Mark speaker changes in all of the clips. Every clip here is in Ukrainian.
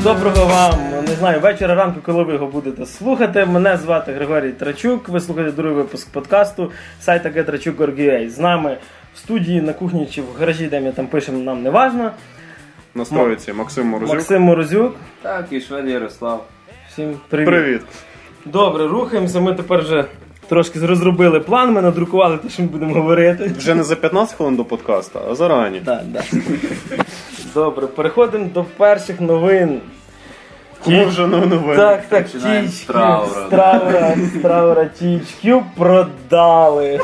Speaker 1: доброго вам, не знаю, вечора, ранку, коли ви його будете слухати. Мене звати Григорій Трачук, ви слухаєте другий випуск подкасту сайта getrachuk.org.ua. З нами в студії, на кухні чи в гаражі, де ми там пишемо, нам не важно.
Speaker 2: На строїці Максим Морозюк.
Speaker 1: Максим Морозюк.
Speaker 3: Так, і Швед Ярослав.
Speaker 1: Всім привіт.
Speaker 2: Привіт.
Speaker 1: Добре, рухаємося, ми тепер вже трошки розробили план, ми надрукували те, що ми будемо говорити.
Speaker 2: Вже не за 15 хвилин до подкасту, а зарані.
Speaker 1: Так. Добре, переходимо до перших новин.
Speaker 2: Кому вже новини?
Speaker 1: Так,
Speaker 3: Починаємо з
Speaker 1: Траура THQ продали.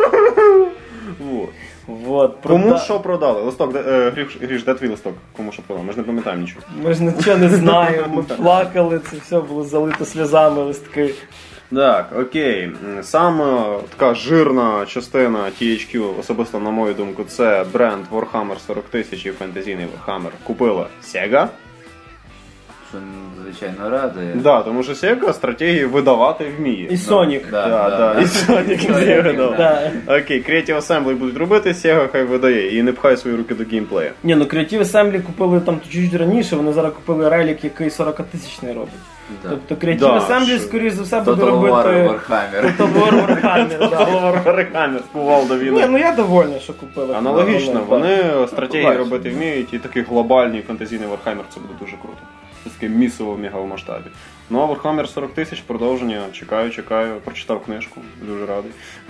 Speaker 1: Вот,
Speaker 2: Кому що продали? Листок, Гріш, де твій листок? Кому що продали? Ми ж не пам'ятаємо нічого.
Speaker 1: Ми ж нічого не знаємо, ми плакали, це все було залито сльозами листки.
Speaker 2: Так, окей. Саме така жирна частина THQ, особисто на мою думку, це бренд Warhammer 40 тисяч і фентезійний Warhammer. Купила Sega.
Speaker 3: Що, звичайно, радує.
Speaker 2: Да, тому що Sega стратегії видавати вміє.
Speaker 1: І Sonic.
Speaker 2: Да. І Sonic видавав.
Speaker 1: Да.
Speaker 2: Окей, Creative Assembly будуть робити, Sega хай видає і не пхає свої руки до геймплею.
Speaker 1: Ні, ну Creative Assembly купили там чуть-чуть раніше, вони зараз купили релік, який 40-тисячний робить.
Speaker 3: Да.
Speaker 1: Тобто Creative Assembly, скоріш за все, буде
Speaker 3: Total
Speaker 1: робити...
Speaker 3: War Warhammer.
Speaker 1: Total War Warhammer, да.
Speaker 2: Warhammer кував до війни.
Speaker 1: Ні, ну я довольна, що купили.
Speaker 2: Аналогічно, вони стратегії
Speaker 3: побачимо.
Speaker 2: робити вміють, і такий глобальний фентезійний Warhammer це буде дуже круто. Це таке місово в мегамасштабі. Ну а Warhammer 40 тисяч продовження, чекаю, прочитав книжку, дуже радий.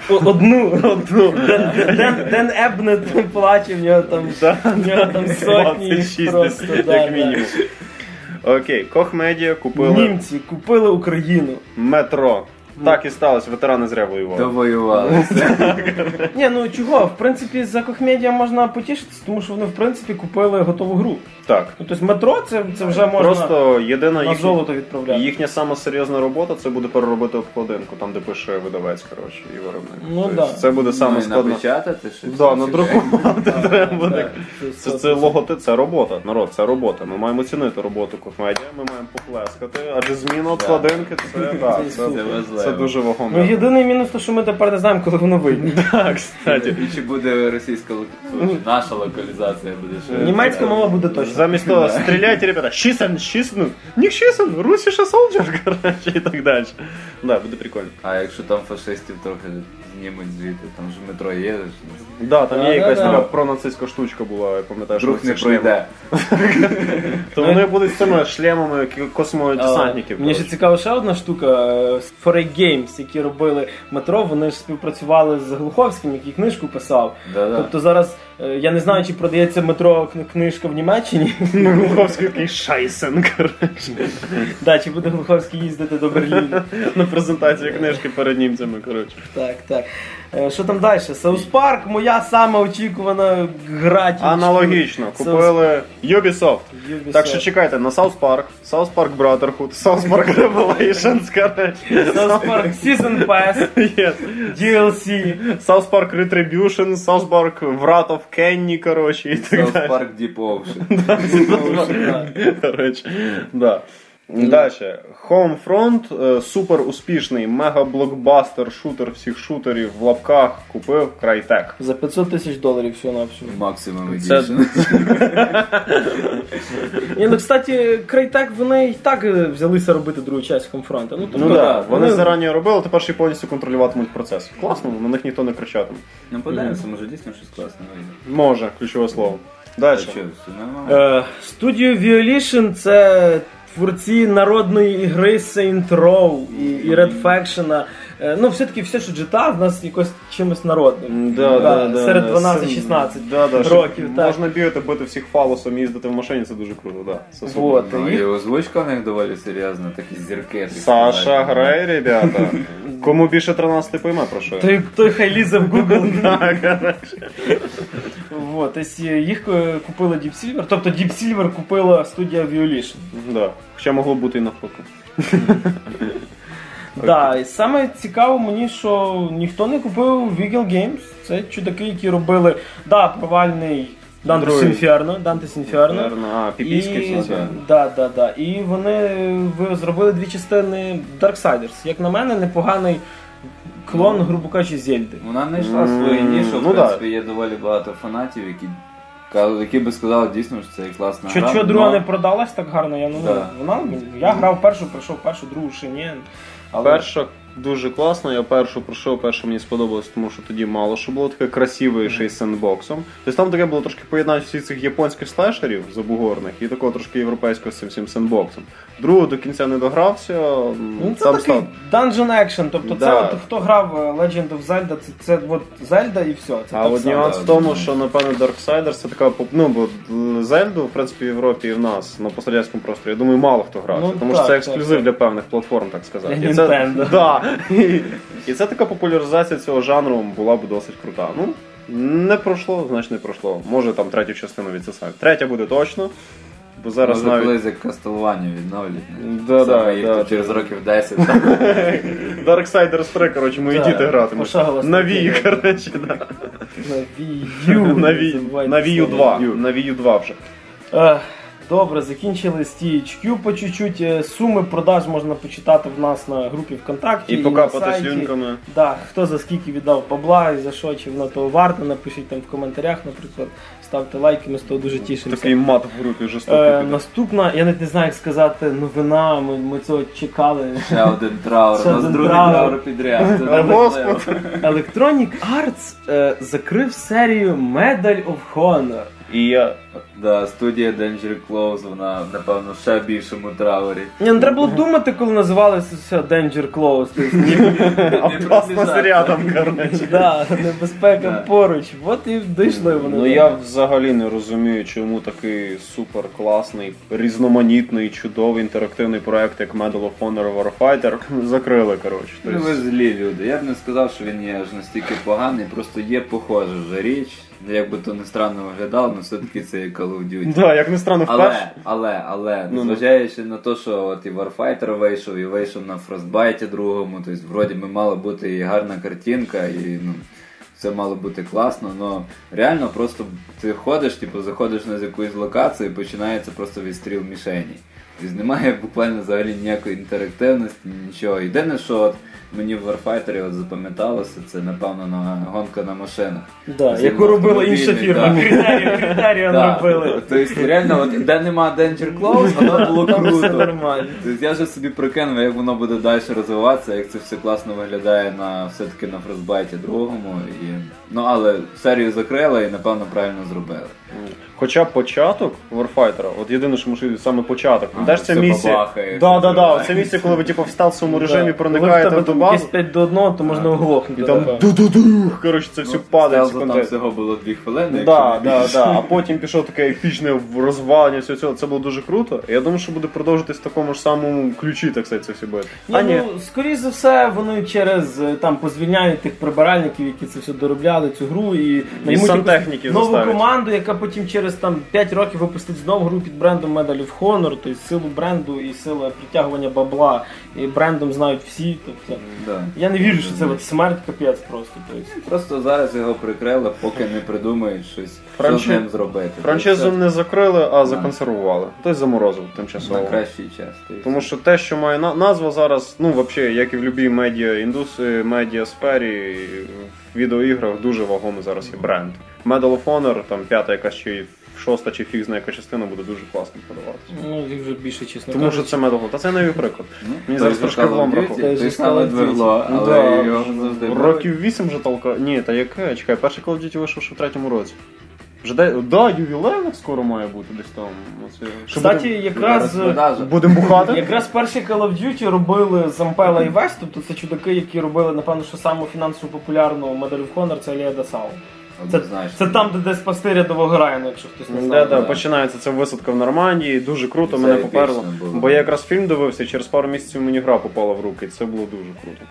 Speaker 1: Одну. Ден Ебнет плаче, в нього там сотні
Speaker 2: 26
Speaker 1: просто,
Speaker 2: як мінімум. Окей, Koch Media купили
Speaker 1: Німці купили Україну.
Speaker 2: Метро. Так і сталося, ветерани зря воювали.
Speaker 3: Довоювалися.
Speaker 1: Ні, ну чого, в принципі, за Koch Media можна потішитися, тому що вони, в принципі, купили готову гру.
Speaker 2: Так.
Speaker 1: Ну, тобто метро, це вже можна
Speaker 2: Просто єдина
Speaker 1: на золото відправляти.
Speaker 2: їхня сама серйозна робота це буде переробити обкладинку, там де пише видавець, коротше, і виробник.
Speaker 1: Ну,
Speaker 2: Тобто,
Speaker 1: да.
Speaker 2: це буде саме
Speaker 3: Ну, і
Speaker 2: складно.
Speaker 3: напечатати щось.
Speaker 2: Да, надрукувати треба буде.
Speaker 1: Так.
Speaker 2: Це логотип, це робота, народ, це робота. Ми маємо цінити роботу Koch Media, ми маємо поплескати, адже зміна обкладинки це дуже
Speaker 1: Ну,
Speaker 2: вагомо.
Speaker 1: єдиний мінус, то, що ми тепер не знаємо, коли воно вийде.
Speaker 2: Так, кстати.
Speaker 3: І чи буде російська наша локалізація буде ще.
Speaker 1: Німецька мова буде точно.
Speaker 2: Замість того, стріляйте, ребята, шісен, не шісен, русіша солджер, коротше, і так далі. Да, буде прикольно.
Speaker 3: А якщо там фашистів трохи знімуть звідти, там ж метро є.
Speaker 2: Да, там є якась
Speaker 1: Да.
Speaker 2: така пронацистська штучка була, я пам'ятаю, що
Speaker 3: Друг не
Speaker 2: ці шлеми.
Speaker 3: пройде.
Speaker 2: То вони будуть з цими шлемами космодесантників.
Speaker 1: Мені ще цікава ще одна штука. 4A Games, які робили метро, вони ж співпрацювали з Глуховським, який книжку писав.
Speaker 3: Да-да.
Speaker 1: Тобто зараз, я не знаю, чи продається метро книжка в Німеччині.
Speaker 2: Глуховський такий шайсен, коротше.
Speaker 1: Да, чи буде Глуховський їздити до Берліну.
Speaker 2: На презентації книжки перед німцями, коротше.
Speaker 1: Так. Що там далі? South Park, моя сама очікувана гра.
Speaker 2: Аналогічно, купили Ubisoft. Так що чекайте на South Park Brotherhood, South Park Revelations, коротше.
Speaker 1: South Park Season Pass,
Speaker 2: Yes.
Speaker 1: DLC.
Speaker 2: South Park Retribution, South Park Wrath of Kenny, коротше, і так
Speaker 3: South
Speaker 2: далі.
Speaker 3: Park Deep Ocean.
Speaker 2: Коротше, да. Дальше. Homefront, супер успішний мега-блокбастер, шутер всіх шутерів в лапках, купив Crytek.
Speaker 1: За $500,000 всього на всього.
Speaker 3: Максимум
Speaker 2: Це-
Speaker 3: Edition.
Speaker 1: Ні, ну, кстати, Crytek, вони і так взялися робити другу часть Homefront. Ну, тобто,
Speaker 2: Ну так, вони зарані робили, тепер ще й повністю контролюватимуть процес. Класно, на них ніхто не кричатиме.
Speaker 3: Ну подивимося, може дійсно щось класне вийде.
Speaker 2: Може, ключове слово. Далі.
Speaker 3: Що, все нормально?
Speaker 1: Студіо Violation — це творці народної ігри Saints Row і Red Faction. Ну, все-таки все, що GTA, в нас якось чимось народним. Серед 12-16 років. Так.
Speaker 2: Можна бігати, бити всіх фалосом, їздити в машині, це дуже круто, так. Це супер.
Speaker 1: Вот.
Speaker 3: Ну, і озвучка в них доволі серйозна, такі зірки. так
Speaker 2: Саша,
Speaker 3: сказати.
Speaker 2: грай, ребята. Кому більше 13 пойме про що.
Speaker 1: Той хай лізе в Google. Вот, їх купила Deep Silver, тобто Deep Silver купила студія Violation.
Speaker 2: Да. Хоча могло бути і навпаки.
Speaker 1: Да, і саме цікаво мені, що ніхто не купив Vigil Games. Це чудаки, які робили, провальний Dante's Inferno.
Speaker 2: Піпійський все це.
Speaker 1: Да. І вони зробили дві частини Darksiders. Як на мене, непоганий клон, грубо кажучи, Зельди.
Speaker 3: Вона знайшла свою нішу,
Speaker 2: ну
Speaker 3: в принципі, є доволі багато фанатів, які Які би сказали дійсно, що це класна гра.
Speaker 1: Що друга не продалась так гарно, я грав першу, пройшов першу, другу ще ні.
Speaker 2: Але... Перша дуже класна, я першу пройшов, перша мені сподобалась, тому що тоді мало що було таке красиве, ще й з сендбоксом. Тобто там таке було трошки поєднання всіх цих японських слешерів забугорних і такого трошки європейського з цим всім сендбоксом. Другу до кінця не догрався.
Speaker 1: Це такий dungeon action, тобто це хто грав Legend of Zelda, це от Zelda і все.
Speaker 2: А от нюанс в тому, що напевно Darksiders це така, бо Зельду, в принципі, в Європі і в нас, на пострадянському просторі, я думаю, мало хто грав, тому що це ексклюзив для певних платформ, так сказати.
Speaker 1: Для Nintendo.
Speaker 2: Да. І це така популяризація цього жанру була б досить крута. Не пройшло, значить не пройшло. Може там третю частину відсосають. Третя буде точно. Бо зараз
Speaker 3: може колись як Castlevania
Speaker 2: відновлять.
Speaker 3: Через років 10.
Speaker 2: Darksiders 3, коротше, мої діти гратимуть. На Wii, коротше, да. На Wii U 2. На Wii U 2 вже.
Speaker 1: Добре, закінчили з THQ по чуть-чуть. Суми продаж можна почитати в нас на групі ВКонтакті.
Speaker 2: І покапати слюнками.
Speaker 1: Да, хто за скільки віддав бабла і за що, чи воно того варто, напишіть там в коментарях, наприклад. Ставте лайки, ми з того дуже тішимося.
Speaker 2: Такий мат в групі жорстокий.
Speaker 1: Наступна, я не знаю, як сказати, новина, ми цього чекали.
Speaker 3: Ще один траур, у нас другий траур підряд.
Speaker 1: Electronic Arts закрив серію Medal of Honor.
Speaker 2: І я...
Speaker 3: Да, студія Danger Close, вона, напевно, в ще більшому траурі.
Speaker 1: Не треба було думати, коли називалося все Danger Close.
Speaker 2: Опасність рядом, коротше.
Speaker 1: Да, небезпека поруч. От і дійшли вони.
Speaker 2: Ну я взагалі не розумію, чому такий супер класний, різноманітний, чудовий інтерактивний проект, як Medal of Honor Warfighter, закрили, коротше.
Speaker 3: Ну ви злі люди. Я б не сказав, що він є аж настільки поганий, просто є похожа вже річ. Як би то не странно виглядало, але все-таки це є Call of Duty.
Speaker 2: Да, як не странно вперше.
Speaker 3: Але, незважаючи на те, що от і Warfighter вийшов, і вийшов на Frostbite другому, тобто вроді би мала бути і гарна картинка, і все мало бути класно, але реально просто ти ходиш, заходиш на якусь локацію і починається просто відстріл мішені. Тобто немає буквально взагалі ніякої інтерактивності, нічого. Єдине, що от мені в Warfighter запам'яталося, це напевно гонка на машинах.
Speaker 1: Да, яку робила інша фірма, критерію робили.
Speaker 3: Тобто реально, де нема Danger Close, воно було круто. Тобто я вже собі прикинув, як воно буде далі розвиватися, як це все класно виглядає все-таки на Frostbite другому. Але серію закрили і напевно правильно зробили.
Speaker 2: Хоча початок Warfighter, от єдине, що можливо, саме початок. Де ж це місія? Да, це місія, коли ви в стелсовому режимі проникаєте в ту базу.
Speaker 1: Якщо 5 до 1, то можна оглохнути.
Speaker 2: І там ду-ду-ду, коротше, це все падає.
Speaker 3: Там всього було 2 хвилини.
Speaker 2: Да, а потім пішов таке епічне розвалення всього цього, це було дуже круто. Я думаю, що буде продовжитись в такому ж самому ключі, так сказати, це все буде.
Speaker 1: Скоріше за все, вони через позвільняють тих прибиральників, які це все доробляли, цю гру, і наймуть нову команду, яка потім через 5 років випустить знову гру під брендом Medal of Honor, тобто силу бренду і силу притягування бабла, і брендом знають всі. Тобто, я не вірю, що це смерть капець просто.
Speaker 3: Просто зараз його прикрили, поки не придумають щось, що з ним зробити.
Speaker 2: Франшизу не закрили, а законсервували. Тобто заморозив тимчасово.
Speaker 3: На кращий час.
Speaker 2: Тому що те, що має назва зараз, взагалі, як і в будь-якій медіа-індустрії, медіа-сфері, в відеоіграх дуже вагомий зараз є бренд. Medal of Honor, там 5-та якась чи 6-та чи фіг знає яка частина буде дуже класно подаватися.
Speaker 1: Їх вже більше, чесно.
Speaker 2: Тому що це Medal of Honor. Та це не приклад. Мені зараз трошки влом рахує.
Speaker 3: Той саме двергло, але його завжди
Speaker 2: років 8 вже толка. Ні, та яке? Чекай, перший Call of Duty вийшов ще в 3-му році. Ювілейник скоро має бути десь там.
Speaker 1: Кстати, якраз
Speaker 2: будемо бухати.
Speaker 1: Якраз перший Call of Duty робили з Ampela і West, тобто це чудаки, які робили, напевно, що саму фінансово популярну Medal of Honor, це Алія Дасау. Це там, де спасти рядового Райана, якщо хтось не знає.
Speaker 2: Да, починається ця висадка в Нормандії, дуже круто, мене поперло. Бо я якраз фільм дивився, і через пару місяців мені гра попала в руки, і це було дуже круто.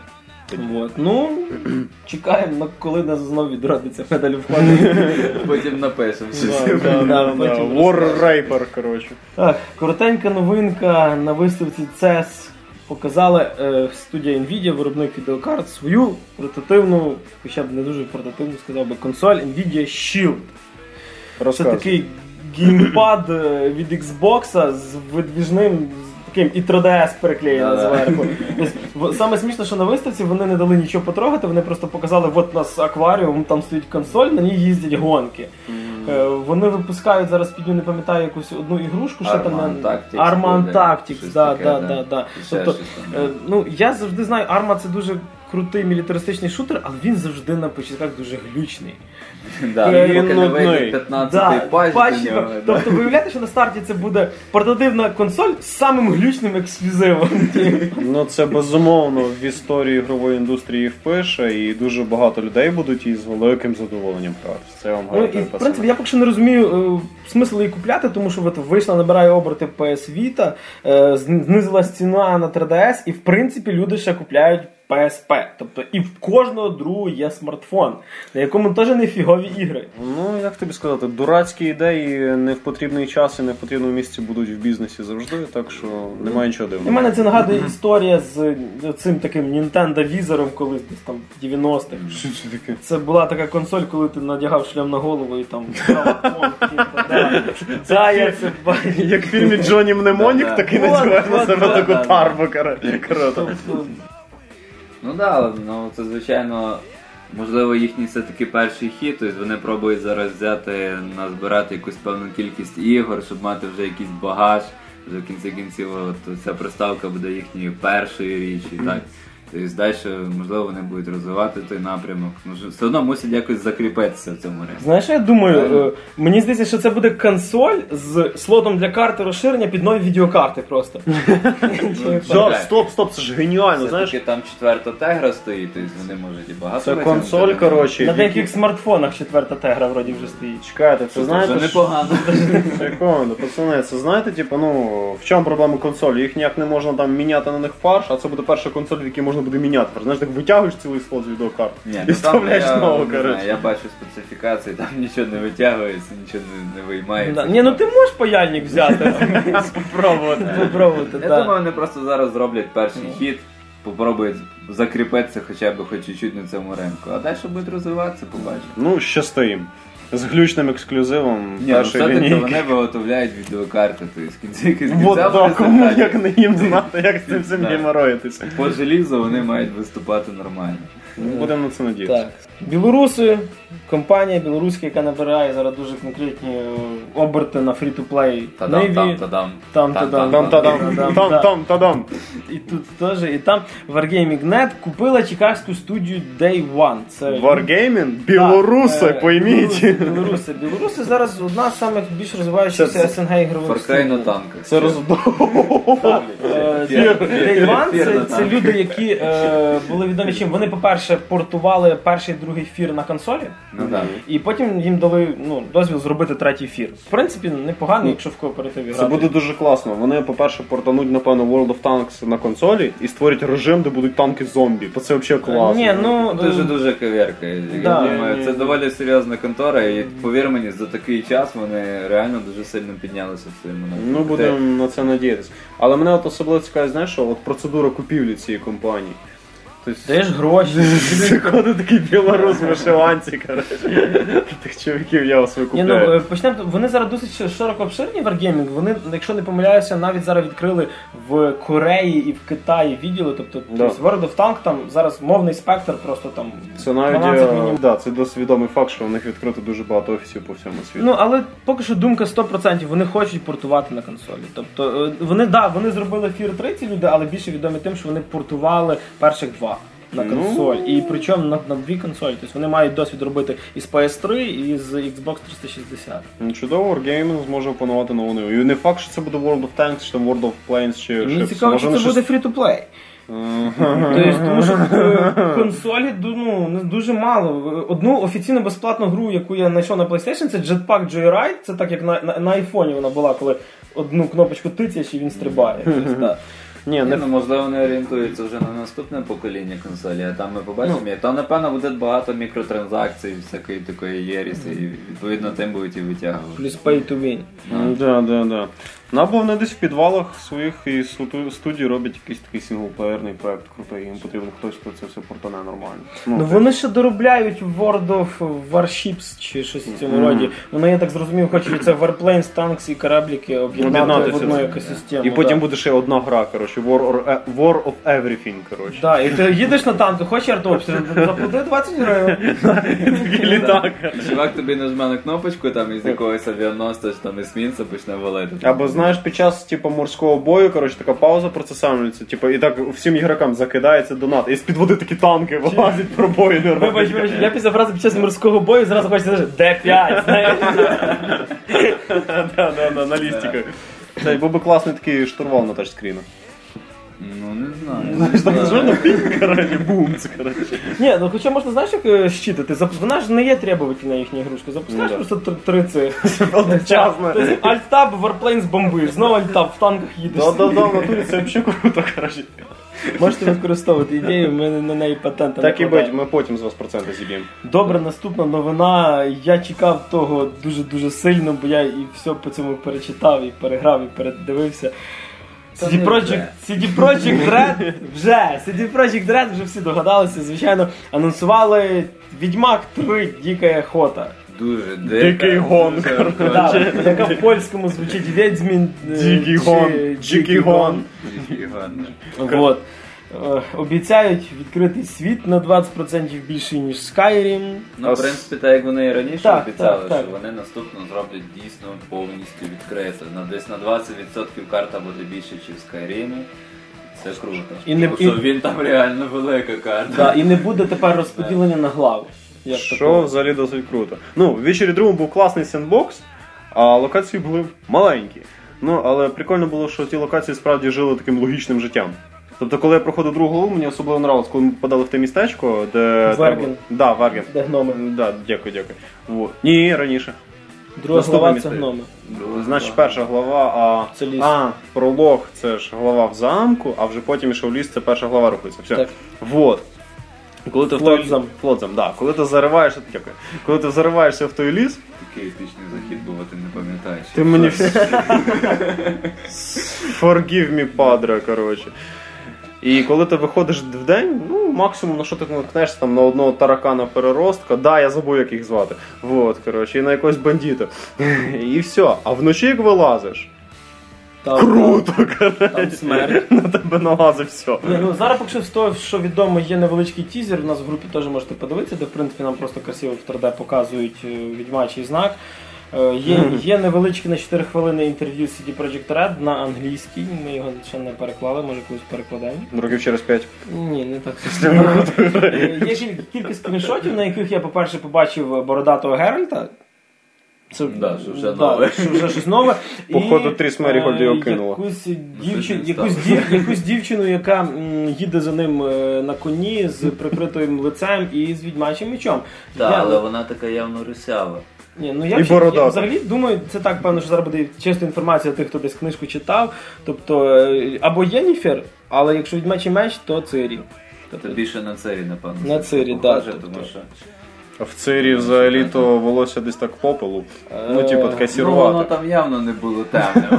Speaker 1: Чекаємо, коли нас знову відродиться Medal of Honor.
Speaker 3: Потім напишемо.
Speaker 2: War Raper, коротше.
Speaker 1: Коротенька новинка на виставці CES. Показали студія Nvidia, виробник відеокарт, свою портативну, хоча б не дуже портативну, сказав би, консоль Nvidia Shield. Це такий геймпад від Xbox з видвіжним таким і 3DS переклеєним зверху. Саме смішно, що на виставці вони не дали нічого потрогати, вони просто показали, от у нас акваріум, там стоїть консоль, на ній їздять гонки. Вони випускають зараз, не пам'ятаю, якусь одну ігрушку, що там
Speaker 3: Arma
Speaker 1: Tactics, да. Тобто, я завжди знаю, Arma це дуже крутий мілітаристичний шутер, але він завжди на початках дуже глючний.
Speaker 3: Поки не вийде 15-й патч до нього.
Speaker 1: Тобто виявляєте, що на старті це буде портативна консоль з самим глючним ексклюзивом.
Speaker 2: Це безумовно в історії ігрової індустрії впише, і дуже багато людей будуть її з великим задоволенням грати. Це вам гарантую.
Speaker 1: В принципі, я поки що не розумію смисл її купляти, тому що вийшла, набирає оберти PS Vita, знизилась ціна на 3DS, і в принципі люди ще купляють PSP. Тобто і в кожного другого є смартфон, на якому теж не фігові ігри.
Speaker 2: Як тобі сказати, дурацькі ідеї не в потрібний час і не в потрібному місці будуть в бізнесі завжди, так що немає нічого дивного.
Speaker 1: У мене це нагадує історія з цим таким Nintendo Wizard колись десь там в 90-х.
Speaker 2: Що це таке?
Speaker 1: Це була така консоль, коли ти надягав шлем на голову і там я це бачу.
Speaker 2: Як в фільмі Джонні Мнемонік, такий надягаєш на себе таку тарбу.
Speaker 3: Це звичайно, можливо, їхній все-таки перший хід, тобто вони пробують зараз назбирати якусь певну кількість ігор, щоб мати вже якийсь багаж, вже в кінці кінців ця приставка буде їхньою першою річчю, так. Тобто далі, можливо, вони будуть розвивати той напрямок. Все одно мусять якось закріпитися в цьому ринку.
Speaker 1: Знаєш, я думаю, мені здається, що це буде консоль з слотом для карти розширення під нові відеокарти просто.
Speaker 2: Стоп, це ж геніально, знаєш?
Speaker 3: Все-таки там 4-та тегра стоїть, тобто вони можуть і багато.
Speaker 2: Це консоль, коротше.
Speaker 1: На деяких смартфонах 4-та тегра вроді вже стоїть.
Speaker 2: Чекайте, це знаєте...
Speaker 3: Це непогано.
Speaker 2: Секунду, пацани, це знаєте, в чому проблема консолі? Їх ніяк не можна там міняти на них фарш, а це буде перша консоль, в якій можна буде міняти. Знаєш, так витягуєш цілий слот з відеокарт і вставляєш нову, коротше.
Speaker 3: Я бачу специфікації, там нічого не витягується, нічого не виймається.
Speaker 1: Ти можеш паяльник взяти, попробувати.
Speaker 3: Я думаю, вони просто зараз зроблять перший хід, попробують закріпитися хоча б хоч чуть-чуть на цьому ринку. А далі будуть розвиватися, побачимо.
Speaker 2: Щасти їм. З глючним ексклюзивом першої лінійки.
Speaker 3: Все-таки вони виготовляють відеокарти,
Speaker 2: Кому як не їм знати, як з цим всім геморроїтися.
Speaker 3: По желізу вони мають виступати нормально.
Speaker 2: Будемо на це надіятися.
Speaker 1: Білоруси, компанія білоруська, яка набирає зараз дуже конкретні оберти на фрі-ту-плей Navy.
Speaker 2: Там.
Speaker 1: І тут теж, і там Wargaming.net купила чикагську студію Day One.
Speaker 2: Wargaming? Білоруси, пойміть.
Speaker 1: Білоруси зараз одна з самих більш розвиваючихся СНГ ігрових
Speaker 3: студій. Far Cry на танках.
Speaker 2: Це
Speaker 1: Day One це люди, які були відомі чим. Вони, по-перше, портували перший і другий фір на консолі, і потім їм дали дозвіл зробити третій фір. В принципі, непогано, якщо в кооперативі грати.
Speaker 2: Це буде дуже класно. Вони, по-перше, портануть, напевно, World of Tanks на консолі і створять режим, де будуть танки-зомбі. Це взагалі класно.
Speaker 3: Дуже кав'ярка. Я думаю, це доволі серйозна контора, і повір мені, за такий час вони реально дуже сильно піднялися в своєму напрямку.
Speaker 2: Будемо на це надіятися. Але мене особливо цікавить, знаєш, що процедура купівлі цієї компанії.
Speaker 1: Даєш гроші.
Speaker 2: Заходить такий білорус в вишиванці, коротше. Тих чоловіків я вас викупляю.
Speaker 1: Почнемо. Вони зараз досить широко обширні Wargaming. Вони, якщо не помиляюся, навіть зараз відкрили в Кореї і в Китаї відділи. Тобто World of Tanks, там зараз мовний спектр просто там 12 мінімум.
Speaker 2: Це досить відомий факт, що у них відкрито дуже багато офісів по всьому світу.
Speaker 1: Але поки що думка 100%, вони хочуть портувати на консолі. Тобто вони зробили Fear 3 ці люди, але більше відомі тим, що вони портували перших два на консоль. І причому на дві консолі. Тобто вони мають досвід робити і з PS3, і з Xbox 360.
Speaker 2: Чудово, Wargaming зможе опанувати нову ниву. І не факт, що це буде World of Tanks, чи World of Planes, чи
Speaker 1: мені цікаво, що це буде free-to-play. Тому що консолі дуже мало. Одну офіційно безплатну гру, яку я знайшов на PlayStation, це Jetpack Joyride. Це так, як на айфоні вона була, коли одну кнопочку тицяєш і він стрибає.
Speaker 3: Можливо, вони орієнтуються вже на наступне покоління консолі, а там ми побачимо. Там, напевно, буде багато мікротранзакцій, всякої такої єріси, і відповідно тим будуть і витягувати.
Speaker 1: Плюс pay to win.
Speaker 2: Да. Або вони десь в підвалах своїх і студій роблять якийсь такий синглплеєрний проект крутий, їм потрібно хтось, хто це все портане нормально.
Speaker 1: Вони ще доробляють World of Warships чи щось в цьому роді. Вони, я так зрозумів, хочуть це Warplanes, Tanks і корабліки об'єднати в одну екосистему.
Speaker 2: І потім буде ще одна гра, коротше, War of Everything, коротше.
Speaker 1: Да, і ти їдеш на танку, хочеш артобстріл, заплати 20 гривень.
Speaker 2: Такий літак.
Speaker 3: Чувак тобі нажме на кнопочку, там із якогось авіаносця, чи там есмінця почне валити.
Speaker 2: Або, знаєш, під час, типу, морського бою, коротше, така пауза процесується, типу, і так всім ігрокам закидається донат, і з-під води такі танки вилазять, пробої.
Speaker 1: Вибач, я після фрази під час морського бою зразу хочеться сказати Д5, знаєш.
Speaker 2: Да, на лістиках. Це був би класний такий штурвал на тачскрінах.
Speaker 3: Ну, не знаю.
Speaker 2: Знаєш, так звичайно, коротше, бум, це, коротше.
Speaker 1: Ні, ну хоча можна, знаєш, як щитити? Вона ж не є требовательна їхня ігрушка. Запускаєш просто 3 цих.
Speaker 2: Одночасно.
Speaker 1: Альт-таб, Warplanes бомбиш, знову альт-таб, в танках їдеш.
Speaker 2: Да, в натурі це взагалі круто, коротше.
Speaker 1: Можете використовувати ідею, в мене на неї патента не
Speaker 2: Так і
Speaker 1: хватає.
Speaker 2: будь, ми потім з вас проценти зіб'ємо.
Speaker 1: Добре, наступна новина. Я чекав того дуже-дуже сильно, бо я і все по цьому перечитав, і переграв, і передивився. CD Projekt Red вже всі догадалися, звичайно, анонсували Відьмак 3 Дика Охота.
Speaker 3: Дуже
Speaker 2: Дикий гон, коротше.
Speaker 1: Яка в польському звучить Відьмін
Speaker 2: Дикий гон.
Speaker 3: Дикий гон.
Speaker 1: Вот. Обіцяють відкритий світ на 20% більший, ніж Skyrim.
Speaker 3: Ну, в принципі, так як вони і раніше
Speaker 1: Так,
Speaker 3: обіцяли,
Speaker 1: так.
Speaker 3: що вони наступно зроблять дійсно повністю відкрито. Десь на 20% карта буде більше, ніж в Skyrim. Це круто. Тому що він там реально велика карта.
Speaker 1: Да, і не буде тепер розподілення на глави.
Speaker 2: Що взагалі досить круто. Ну, в Witcher 2 був класний сендбокс, а локації були маленькі. Ну, але прикольно було, що ті локації справді жили таким логічним життям. Тобто, коли я проходив другу голову, мені особливо нравилось, коли ми попадали в те містечко, де...
Speaker 1: Верген.
Speaker 2: Да, Верген.
Speaker 1: Де гноми.
Speaker 2: Да, дякую. Вот. Ні, раніше.
Speaker 1: Друга
Speaker 2: Наступне
Speaker 1: глава це
Speaker 2: містечко.
Speaker 1: гноми.
Speaker 2: Значить, перша глава,
Speaker 1: Це ліс.
Speaker 2: пролог, це ж глава в замку, а вже потім ішов ліс, це перша глава рухається. Все.
Speaker 1: Так.
Speaker 2: Вот. Коли ти
Speaker 1: Флотзам.
Speaker 2: Флотзам, да. Коли ти зариваєшся, дякую. Коли ти зариваєшся в той ліс,
Speaker 3: Такий епічний захід був, а ти не пам'ятаєш.
Speaker 2: ти мені Forgive me, падре, коротше. І коли ти виходиш в день, ну, максимум, на що ти наткнешся, там, на одного таракана переростка, да, я забув, як їх звати, вот, коротше, і на якогось бандита. І все. А вночі, як вилазиш, круто, коротше.
Speaker 1: Там смерть.
Speaker 2: На тебе налазить все.
Speaker 1: Ні, ну, зараз, поки що з того, що відомо, є невеличкий тізер, у нас в групі теж можете подивитися, де, в принципі, нам просто красиво в 3D показують відьмачий знак. Є невеличке на 4 хвилини інтерв'ю з CD Projekt Red на англійській, ми його ще не переклали, може колись перекладемо.
Speaker 2: Років через 5.
Speaker 1: Ні, не так. Є кілька скріншотів, на яких я, по-перше, побачив бородатого Геральта. Це,
Speaker 3: що вже нове.
Speaker 1: Що вже щось нове.
Speaker 2: Походу, Тріс Мерігольд його кинула.
Speaker 1: Якусь дівчину, яка їде за ним на коні з прикритим лицем і з відьмачим мечом.
Speaker 3: Так, але вона така явно рисява.
Speaker 1: Ні, ну я взагалі думаю, це так, певно, що зараз буде чиста інформація тих, хто десь книжку читав. Тобто, або Єніфер, але якщо відьмачий меч, то Цирі.
Speaker 3: Тобто більше на Цирі, напевно.
Speaker 1: На Цирі, так.
Speaker 2: А в Цирі взагалі то волосся десь так попелу. Ну, типу, таке сірувате.
Speaker 3: Ну, воно там явно не було темним.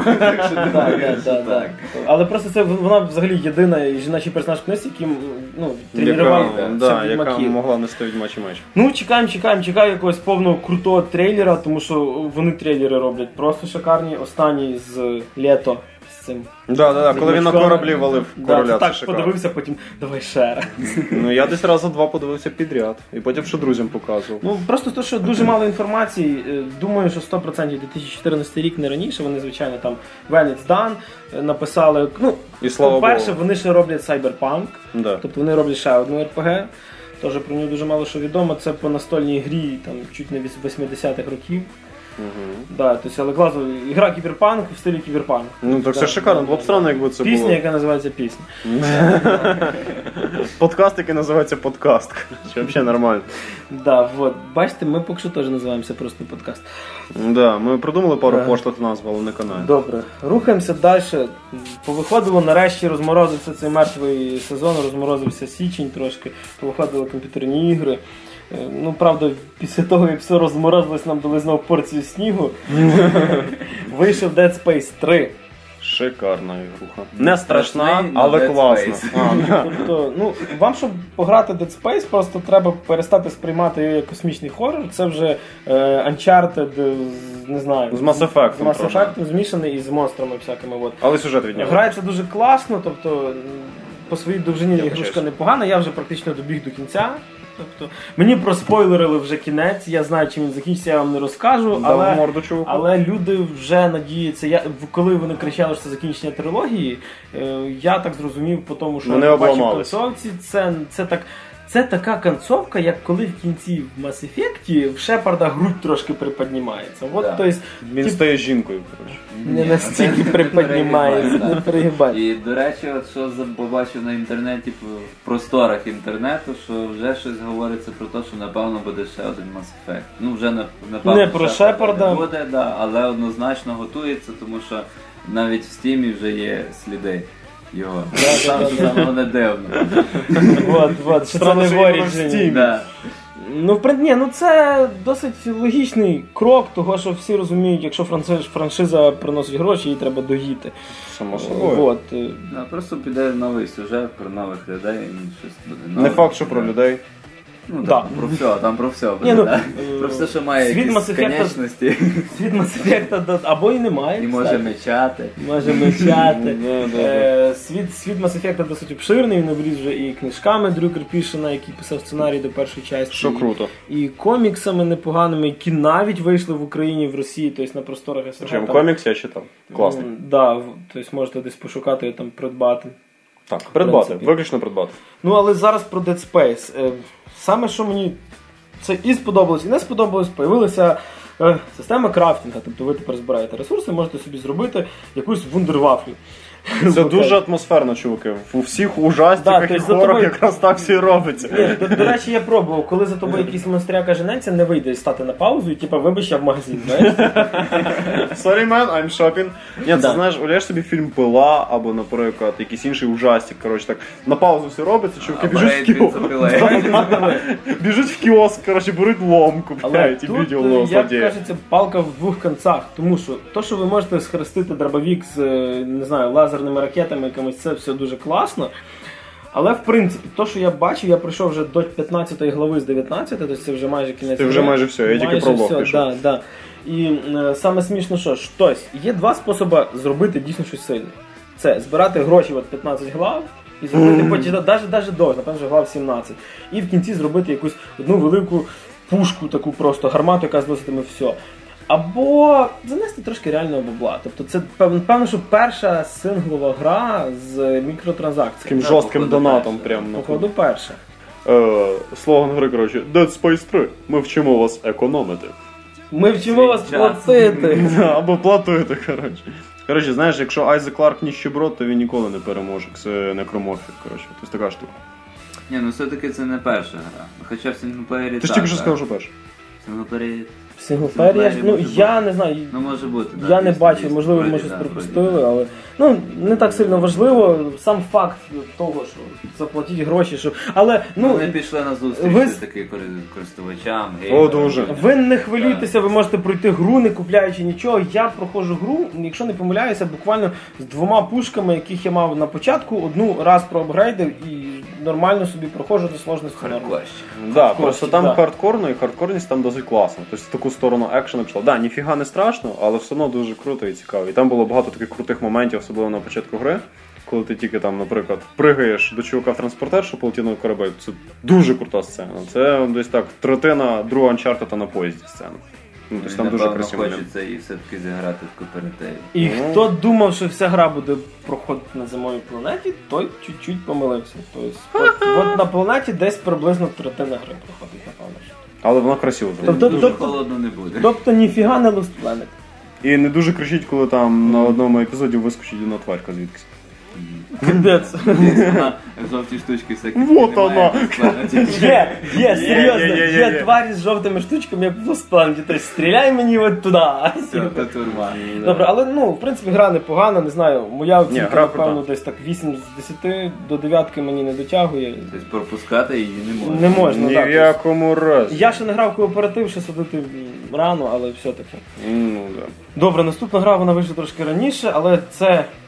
Speaker 1: Так. Але просто це вона взагалі єдина жіночий персонаж в книжці, який тренував
Speaker 2: яка могла нести відьмачий меч.
Speaker 1: Ну, чекаємо якогось повного крутого трейлера, тому що вони трейлери роблять просто шикарні. Останній з літо.
Speaker 2: Да, коли він на кораблі валив короля.
Speaker 1: Так, подивився, потім давай ще раз.
Speaker 2: Ну, я десь раза 2 подивився підряд. І потім ще друзям показував.
Speaker 1: Ну, просто те, що дуже мало інформації. Думаю, що 100% 2014 рік, не раніше. Вони, звичайно, там When It's Done написали. Ну, по-перше, вони ще роблять Cyberpunk.
Speaker 2: Да.
Speaker 1: Тобто вони роблять ще одну RPG. Теж про нього дуже мало що відомо. Це по настольній грі, там, чуть не 80-х років. Да, то есть, але класно, ігра кіберпанк в стилі кіберпанк.
Speaker 2: Ну так все шикарно, було б странно, якби це було.
Speaker 1: Пісня, яка називається пісня.
Speaker 2: Подкаст, який називається подкаст. Взагалі нормально.
Speaker 1: Да, вот. Бачите, ми поки що теж називаємося просто подкаст.
Speaker 2: Да, ми придумали пару поштовх назв, але не каналі.
Speaker 1: Добре, рухаємося далі. Повиходило, нарешті розморозився цей мертвий сезон, розморозився січень трошки, повиходили комп'ютерні ігри. Ну, правда, після того, як все розморозилось, нам дали знову порцію снігу. Вийшов Dead Space 3.
Speaker 2: Шикарна ігруха. Не страшна, але класна.
Speaker 1: Тобто, вам, щоб пограти Dead Space, просто треба перестати сприймати його як космічний хоррор. Це вже Uncharted, не знаю.
Speaker 2: З Mass Effect.
Speaker 1: З Mass Effect змішаний і з монстрами всякими.
Speaker 2: Але сюжет від нього.
Speaker 1: Грається дуже класно, тобто по своїй довжині ігрушка непогана, я вже практично добіг до кінця. Тобто, мені проспойлерили вже кінець, я знаю, чим він закінчиться, я вам не розкажу, але люди вже надіються, коли вони кричали, що це закінчення трилогії, я так зрозумів по тому, що
Speaker 2: вони
Speaker 1: я побачив в концовці, це така концовка, як коли в кінці в Mass Effect в Шепарда грудь трошки приподнімається.
Speaker 3: Да.
Speaker 2: Він стає жінкою.
Speaker 1: Не настільки приподнімається, не перегибає.
Speaker 3: І, до речі, от що побачив на інтернеті, в просторах інтернету, що вже щось говориться про те, що напевно буде ще один Mass Effect. Вже напевно
Speaker 1: не про Шепарда
Speaker 3: буде, але однозначно готується, тому що навіть в Стімі вже є сліди його. Саме не дивно.
Speaker 1: Вот, що це не в Origin. Це досить логічний крок, того, що всі розуміють, якщо франшиза приносить гроші, її треба доїти.
Speaker 2: Само собою.
Speaker 3: Просто піде новий сюжет про нових людей, щось буде нове.
Speaker 2: Не факт, що про людей.
Speaker 3: Про все. Про все, що має якісь конечності.
Speaker 1: Світ Mass Effect або і немає.
Speaker 3: І може мечати.
Speaker 1: Світ Mass Effect досить обширний, він обріз вже і книжками Дрю Керпішена, який писав сценарій до першої частини.
Speaker 2: Що круто.
Speaker 1: І коміксами непоганими, які навіть вийшли в Україні, в Росії, тобто на просторах СНГ.
Speaker 2: Причому комікс я читав. Класний.
Speaker 1: Тобто можете десь пошукати, там придбати.
Speaker 2: Так, придбати, виключно придбати.
Speaker 1: Але зараз про Dead Space. Саме, що мені це і сподобалось, і не сподобалось, появилася система крафтінга. Тобто ви тепер збираєте ресурси, можете собі зробити якусь вундервафлю.
Speaker 2: Це дуже атмосферно, чуваки. У всіх ужастиках і хорорах якраз так все і робиться.
Speaker 1: До речі, я пробував, коли за тобою якийсь монстряка женеться, не вийде стати на паузу і вибач, я в магазин.
Speaker 2: Sorry, man, I'm shopping. Ні, це знаєш, уявляєш собі фільм «Пила» або, наприклад, якийсь інший ужастик, так на паузу все робиться, чуваки біжуть в кіоск, беруть лом, купляють і б'ють його в злодія.
Speaker 1: Як кажеться, палка в двох кінцях, тому що ви можете схрестити дробовик з, не знаю, лазерними ракетами, якимось, це все дуже класно. Але, в принципі, то, що я бачив, я пройшов вже до 15 глави з 19, тобто це вже майже кінець.
Speaker 2: Це вже майже все, я тільки пролог пішов.
Speaker 1: Да. І саме смішно, є два способи зробити дійсно щось сильне. Це збирати гроші 15 глав і зробити потім, навіть довго, напевно, глав 17. І в кінці зробити якусь одну велику пушку, таку просто гармату, яка зноситиме все. Або занести трошки реального бабла. Тобто це, певно, що перша синглова гра з мікротранзакціями.
Speaker 2: Таким жорстким донатом прямо.
Speaker 1: Походу перша.
Speaker 2: Слоган гри, Dead Space 3. Ми вчимо вас економити.
Speaker 1: Ми вчимо вас платити.
Speaker 2: Або платити, Коротше, знаєш, якщо Айзек Кларк ніщеброд, то він ніколи не переможе. Це некроморфік, Тобто така штука.
Speaker 3: Ні, все-таки це не перша гра. Хоча в синглплеєрі
Speaker 2: ти ж тільки що сказав, що перша.
Speaker 3: В
Speaker 1: синглплеєрі, я не знаю.
Speaker 3: Може бути.
Speaker 1: Я не бачив, можливо, ми щось пропустили, але не так сильно важливо. Сам факт того, що заплатіть гроші, але
Speaker 3: вони пішли на зустріч таки користувачам.
Speaker 2: О, дуже.
Speaker 1: Ви не хвилюйтеся, ви можете пройти гру, не купляючи нічого. Я проходжу гру, якщо не помиляюся, буквально з 2 пушками, яких я мав на початку, одну раз проапгрейдив і нормально собі проходжу до сложності.
Speaker 2: Да, просто там хардкорно, і хардкорність там досить класно. Тобто в таку сторону екшена пішла. Да, ніфіга не страшно, але все одно дуже круто і цікаво. І там було багато таких крутих моментів, особливо на початку гри, коли ти тільки там, наприклад, пригаєш до чувака в транспортер, що полетів на корабель. Це дуже крута сцена. Це десь так, третина другого Uncharted на поїзді сцена. Тобто там дуже красиво.
Speaker 3: Хочеться і все-таки зіграти в кооперативі.
Speaker 1: І хто думав, що вся гра буде проходити на зимовій планеті, той чуть-чуть помилився. Тобто, на планеті десь приблизно третина гри проходить, напевно.
Speaker 2: Але вона красиво
Speaker 3: зробила. Дуже холодно не буде.
Speaker 1: Тобто ніфіга не Lost Planet.
Speaker 2: І не дуже кричить, коли там на одному епізоді вискочить одна тварька звідкись.
Speaker 1: Капець.
Speaker 3: Жовті штучки всякі.
Speaker 2: Вот вона!
Speaker 1: Є, серйозно, є тварі з жовтими штучками, як в Lost Planet. Тобто стріляй мені от туди.
Speaker 3: Все, це турма.
Speaker 1: Добре, але, в принципі, гра непогана, не знаю, моя оцінка, напевно, десь так 8 з 10 до 9 мені не дотягує.
Speaker 3: Тобто пропускати її не можна.
Speaker 1: Не можна,
Speaker 2: так. Ні в якому разі.
Speaker 1: Я ще не грав в кооператив, ще садити рано, але все-таки.
Speaker 2: Да.
Speaker 1: Добре, наступна гра, вона вийшла трошки раніше, але це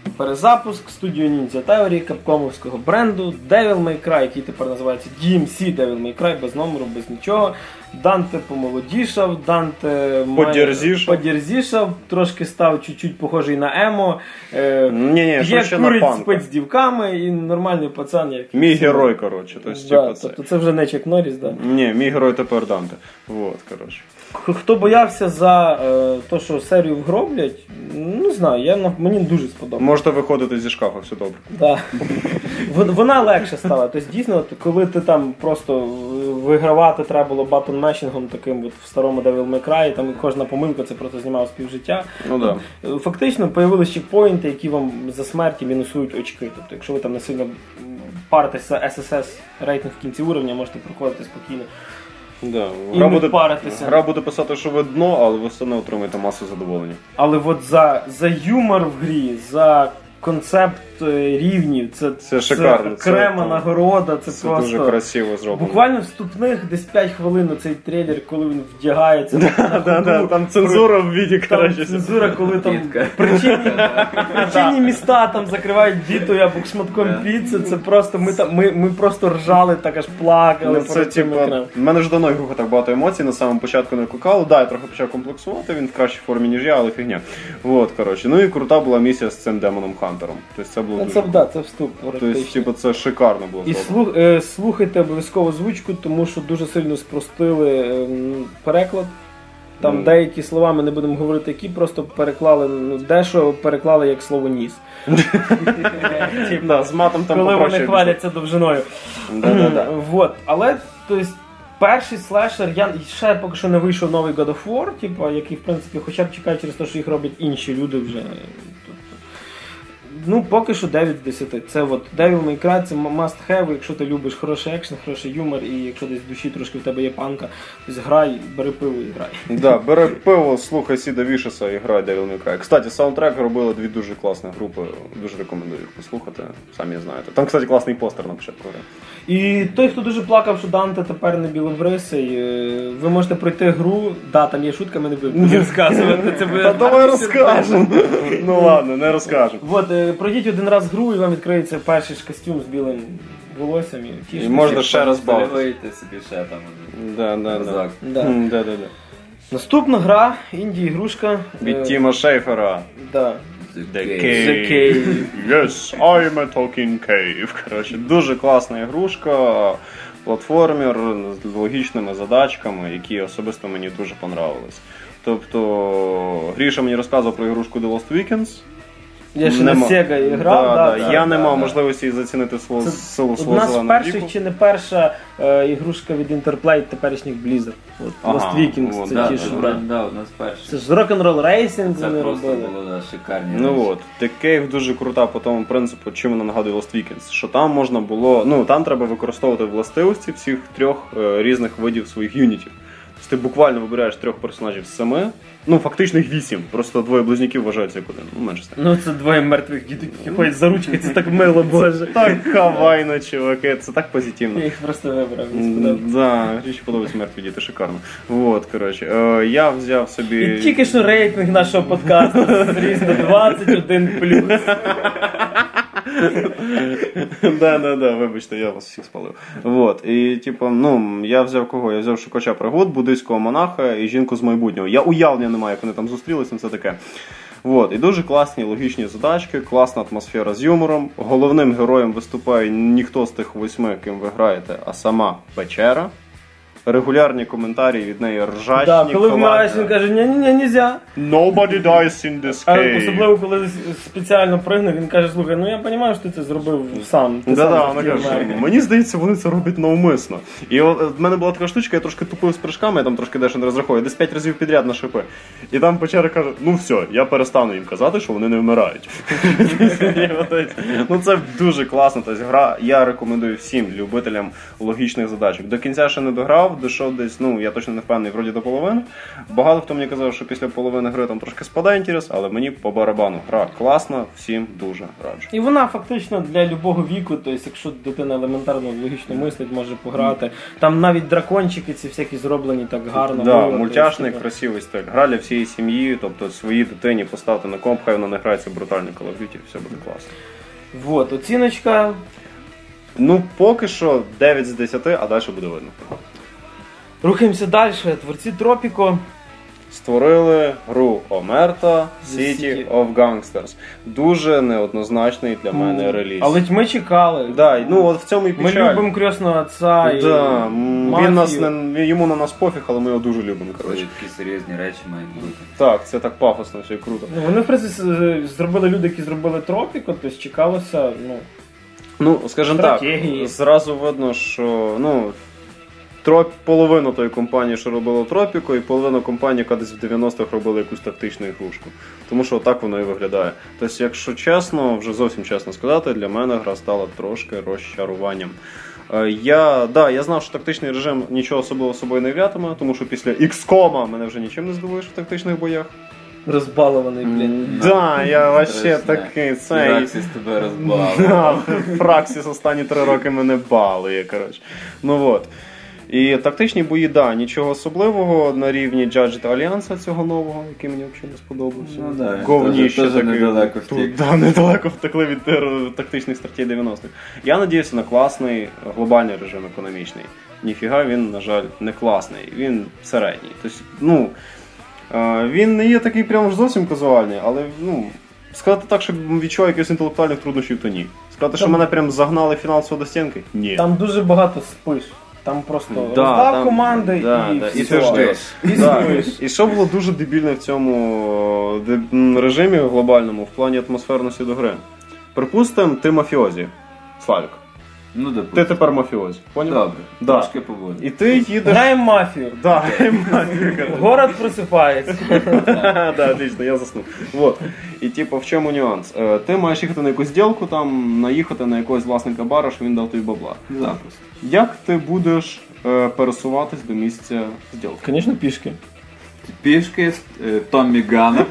Speaker 1: перезапуск студію Ninja Theory, капкомовського бренду, Devil May Cry, який тепер називається DMC Devil May Cry, без номеру, без нічого. Данте помолодішав, Данте подірзішав, трошки став чуть-чуть похожий на емо, п'є, курить, спить з дівками і нормальний пацан. Як
Speaker 2: мій герой, коротше.
Speaker 1: Тобто це вже не Чак Норріс, да?
Speaker 2: Ні, мій герой тепер Данте. Вот, коротше.
Speaker 1: Хто боявся за те, що серію вгроблять, не знаю, мені дуже сподобалося.
Speaker 2: Можете виходити зі шкафу, все добре.
Speaker 1: Да. Вона легше стала. Тобто, дійсно, коли ти там просто вигравати треба було батон-мешінгом таким от в старому Devil May Cry, там кожна помилка це просто знімав співжиття.
Speaker 2: Ну, да.
Speaker 1: Фактично, появилися чекпоінти, які вам за смерті мінусують очки. Тобто, якщо ви там не сильно паритеся SSS рейтинг в кінці уровня, можете проходити спокійно.
Speaker 2: Да.
Speaker 1: Гра
Speaker 2: буде писати, що ви дно, але ви все одно отримаєте масу задоволення.
Speaker 1: Але от за юмор в грі, за концепт рівнів, це
Speaker 2: шикарно.
Speaker 1: Окрема нагорода, це просто
Speaker 2: дуже красиво зроблено.
Speaker 1: Буквально вступних десь 5 хвилин цей трейлер, коли він вдягається.
Speaker 2: Там цензура в віді, коротше.
Speaker 1: Цензура, коли там причинні міста там закривають дітою або шматком піци, це просто, ми просто ржали, так аж плакали.
Speaker 2: Це типа, в мене ж давно ігруха так багато емоцій, на самому початку не викликало. Да, я трохи почав комплексувати, він в кращій формі, ніж я, але фігня. Вот, коротше. Ну і крута була місія з цим демоном Хантером. Тобто це було дуже...
Speaker 1: Це вступ.
Speaker 2: Тобто, це шикарно було.
Speaker 1: І слухайте обов'язково звучку, тому що дуже сильно спростили переклад. Там деякі слова, ми не будемо говорити, які просто переклали, дещо переклали як слово ніс.
Speaker 2: З матом там
Speaker 1: коли вони хваляться довжиною. Але, тобто, перший слешер, я ще поки що не вийшов новий God of War, який, в принципі, хоча б чекає через те, що їх роблять інші люди вже. Ну, поки що 9 з 10. Це от Devil May Cry, це must have, якщо ти любиш хороший екшен, хороший юмор, і якщо десь в душі трошки в тебе є панка, то грай, бери пиво і грай.
Speaker 2: Да, бери пиво, слухай Сіда Вішеса і грай Devil May Cry. Кстати, саундтрек робили дві дуже класні групи, дуже рекомендую їх послухати, самі знаєте. Там, кстати, класний постер на початку гри.
Speaker 1: І той, хто дуже плакав, що Данте тепер не білобрисий, ви можете пройти гру, да, там є шутка, ми не будемо розказувати.
Speaker 2: Та давай розкажемо. Ну ладно, не розкажемо.
Speaker 1: Пройдіть один раз гру, і вам відкриється перший ж костюм з білим волоссям.
Speaker 2: І можна ще раз
Speaker 3: бавити собі ще там.
Speaker 2: Да.
Speaker 1: Наступна гра, інді-ігрушка.
Speaker 2: Від Тіма Шейфера.
Speaker 1: Да.
Speaker 2: The Cave. Yes, I'm a talking cave. Коротше, дуже класна ігрушка, платформер з логічними задачками, які особисто мені дуже понравились. Тобто, Гріша мені розказував про ігрушку The Lost Weekends.
Speaker 1: Я ще на Sega грав.
Speaker 2: Я не мав можливості зацінити силу свого зеленого віку.
Speaker 1: Одна з перших чи не перша ігрушка від Interplay теперішніх Blizzard. Lost Weekends, це ті, що
Speaker 3: одна з перших.
Speaker 1: Це ж Rock'n'Roll Racing
Speaker 3: це
Speaker 1: вони
Speaker 3: просто
Speaker 1: робили.
Speaker 3: Було шикарні.
Speaker 2: Ну от, The Cave дуже крута по тому принципу, чим вона нагадує Lost Weekends. Що там можна було, там треба використовувати властивості всіх трьох різних видів своїх юнітів. Ти буквально вибираєш 3 персонажів з 7, фактично їх 8, просто 2 близнюків вважаються як один, менше стане.
Speaker 1: Це 2 мертвих дітей, які ходять за ручки, це так мило, боже.
Speaker 2: Так хавайно, чуваки, це так позитивно.
Speaker 1: Я їх просто вибрав, мені сподобається.
Speaker 2: Да, річ подобається мертві діти, шикарно. Вот, коротше, я взяв собі...
Speaker 1: І тільки що рейтинг нашого подкасту зріс до 21+.
Speaker 2: Да, вибачте, я вас всіх спалив. Вот, і я взяв кого? Я взяв шукача пригод, буддийського монаха і жінку з майбутнього. Я уявлення не маю, як вони там зустрілися, це таке. Вот, і дуже класні логічні задачки, класна атмосфера з юмором. Головним героєм виступає ніхто з тих 8, ким ви граєте, а сама печера. Регулярні коментарі від неї ржачні.
Speaker 1: Да, коли вмираєш, він каже, ні, нельзя.
Speaker 2: Nobody dies in this cave.
Speaker 1: Особливо, коли спеціально пригне, він каже, слухай, я розумію, що ти це зробив сам.
Speaker 2: Да, вона каже, мені здається, вони це роблять навмисно. І в мене була така штучка, я трошки тупив з прыжками, я там трошки дещо не розраховую, десь 5 разів підряд на шипи. І там печера каже, все, я перестану їм казати, що вони не вмирають. Це дуже класно, тобто гра, я рекомендую всім любителям логічних задачок. До кінця ще не дограв, грав, дійшов десь, я точно не впевнений, вроді до половини. Багато хто мені казав, що після половини гри там трошки спадає інтерес, але мені по барабану. Гра класна, всім дуже раджу.
Speaker 1: І вона фактично для любого віку, тобто якщо дитина елементарно логічно мислить, може пограти. Там навіть дракончики ці всякі зроблені так гарно.
Speaker 2: Да, мультяшний, красивий стиль. Гра для всієї сім'ї, тобто своїй дитині поставити на комп, хай вона не грається в брутальний Call of Duty, все буде класно.
Speaker 1: Вот, оціночка.
Speaker 2: Поки що 9 з 10, а далі буде видно.
Speaker 1: Рухаємося далі. Творці Tropico
Speaker 2: створили гру Omerta City of Gangsters. Дуже неоднозначний для мене реліз.
Speaker 1: Але ми чекали.
Speaker 2: Да, от в цьому і печаль.
Speaker 1: Ми любимо крісного отця і
Speaker 2: йому на нас пофіг, але ми його дуже любимо.
Speaker 3: Такі серйозні речі мають бути.
Speaker 2: Так, це так пафосно, все круто.
Speaker 1: Вони, в принципі, зробили люди, які зробили Tropico, тобто чекалося,
Speaker 2: скажімо так, зразу видно, що, половину тої компанії, що робила Tropico, і половину компанії, яка десь в 90-х робила якусь тактичну ігрушку. Тому що так воно і виглядає. Тобто, якщо чесно, вже зовсім чесно сказати, для мене гра стала трошки розчаруванням. Я знав, що тактичний режим нічого особливого собою не являтиме, тому що після XCOM мене вже нічим не здивуєш в тактичних боях.
Speaker 1: Розбалований, блін.
Speaker 2: Я вообще такий.
Speaker 3: Фраксіс тебе розбалував.
Speaker 2: Фраксіс останні 3 роки мене балує, коротше. І тактичні бої, нічого особливого на рівні Judged Альянса цього нового, який мені взагалі не сподобався.
Speaker 3: Говніще такий. Недалеко втік.
Speaker 2: Недалеко втекли від тактичних стратегій 90-х. Я надіюся на класний глобальний режим економічний. Ніфіга він, на жаль, не класний. Він середній. Тобто, він не є такий прямо ж зовсім казуальний, але, сказати так, що відчуваю якихось інтелектуальних труднощів, то ні. Сказати, що мене прям загнали фінансово до стінки? Ні.
Speaker 1: Там дуже багато спиш. Там просто роздав команди і все.
Speaker 2: І що було дуже дебільне в цьому режимі глобальному в плані атмосферності до гри? Припустимо, ти мафіозі, Славік. Ти тепер мафіозі.
Speaker 3: Добре, трошки поводу.
Speaker 2: І ти їдеш...
Speaker 1: Граємо мафію.
Speaker 2: Граємо мафію.
Speaker 1: Город просипається.
Speaker 2: Отлично, я заснув. І в чому нюанс? Ти маєш їхати на якусь зділку, там, наїхати на якогось власника бара, що він дав тобі бабла.
Speaker 3: Запуск.
Speaker 2: Як ти будеш пересуватись до місця зділки?
Speaker 1: Звісно, пішки.
Speaker 3: Пішки з Томмі Ганом.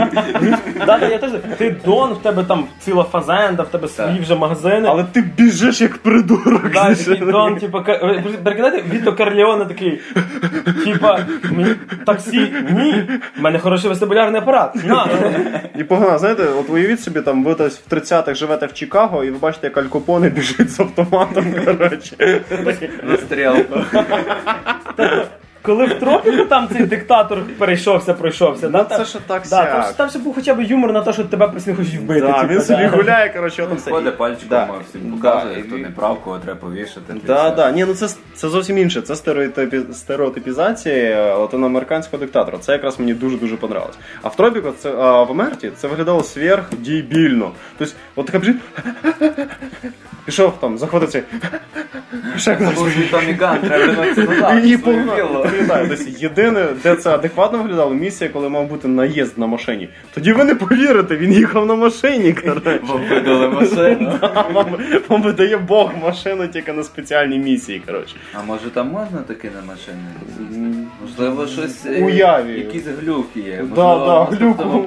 Speaker 1: Я теж. Ти Дон, в тебе там ціла фазенда, в тебе свої вже магазини.
Speaker 2: Але ти біжиш як придурок.
Speaker 1: Такий Дон, перекидайте, Віто Корлеоне такий, таксі, ні, в мене хороший вестибулярний апарат, на.
Speaker 2: І погано, знаєте, от уявіть собі, там ви в 30-х живете в Чикаго, і ви бачите, як Аль Капоне біжить з автоматом, коротше.
Speaker 3: Настріл.
Speaker 1: Коли в Tropico там цей диктатор пройшовся,
Speaker 2: це ж так сяк.
Speaker 1: Там ще був хоча б юмор на те, що тебе просто не хочуть вбити.
Speaker 2: Він собі гуляє, коротше,
Speaker 3: там все. Ходить пальчиком, всім показує, хто не прав, кого треба повішати.
Speaker 2: Це зовсім інше, це стереотипізація латиноамериканського диктатора. Це якраз мені дуже-дуже понравилось. А в Tropico, в Омерті, це виглядало сверхдебільно. Тобто, от така біжить, пішов там, заходить цей,
Speaker 3: це був Томмі Ган, треба на
Speaker 2: і погнали. Єдине, де це адекватно виглядало, місія, коли мав бути наїзд на машині. Тоді ви не повірите, він їхав на машині, коротше.
Speaker 3: Вам видали машину.
Speaker 2: Вам видає Бог машину тільки на спеціальній місії, коротше.
Speaker 3: А може там можна таки на машини? Можливо, щось, якісь глюки є.
Speaker 2: Да, глюку.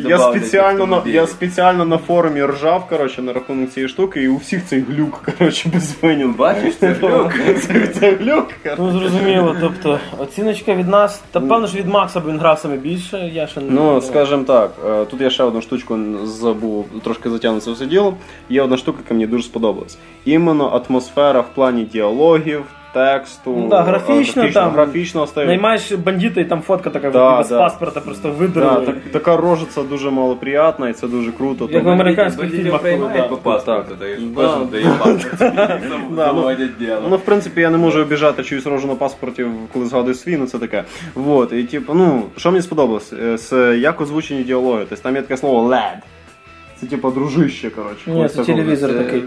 Speaker 2: Я спеціально на форумі ржав, коротше, на рахунок цієї штуки, і у всіх цей глюк, коротше, безвинен.
Speaker 3: Бачиш, це глюк.
Speaker 2: Це глюк, коротше.
Speaker 1: Зрозуміло, тобто оціночка від нас, та певно ж від Макса, бо він грав саме більше, я ще не...
Speaker 2: скажімо так, тут я ще одну штучку забув, трошки затягнути це все діло. Є одна штука, яка мені дуже сподобалась. Іменно атмосфера в плані діалогів, тексту, графічно стає.
Speaker 1: Наймаєш бандита і там фотка така без паспорта просто видерли.
Speaker 2: Така рожиця дуже малоприятна і це дуже круто.
Speaker 1: Як в американських фільмах.
Speaker 3: По паспорту, кожен дає паспорт.
Speaker 2: В принципі, я не можу обіжати чиюсь рожу на паспорті, коли згадую свій, це таке. І що мені сподобалось? Як озвучені діалоги. Тобто там є таке слово «lad». Це дружище, коротше.
Speaker 1: Ні, це телевізор такий.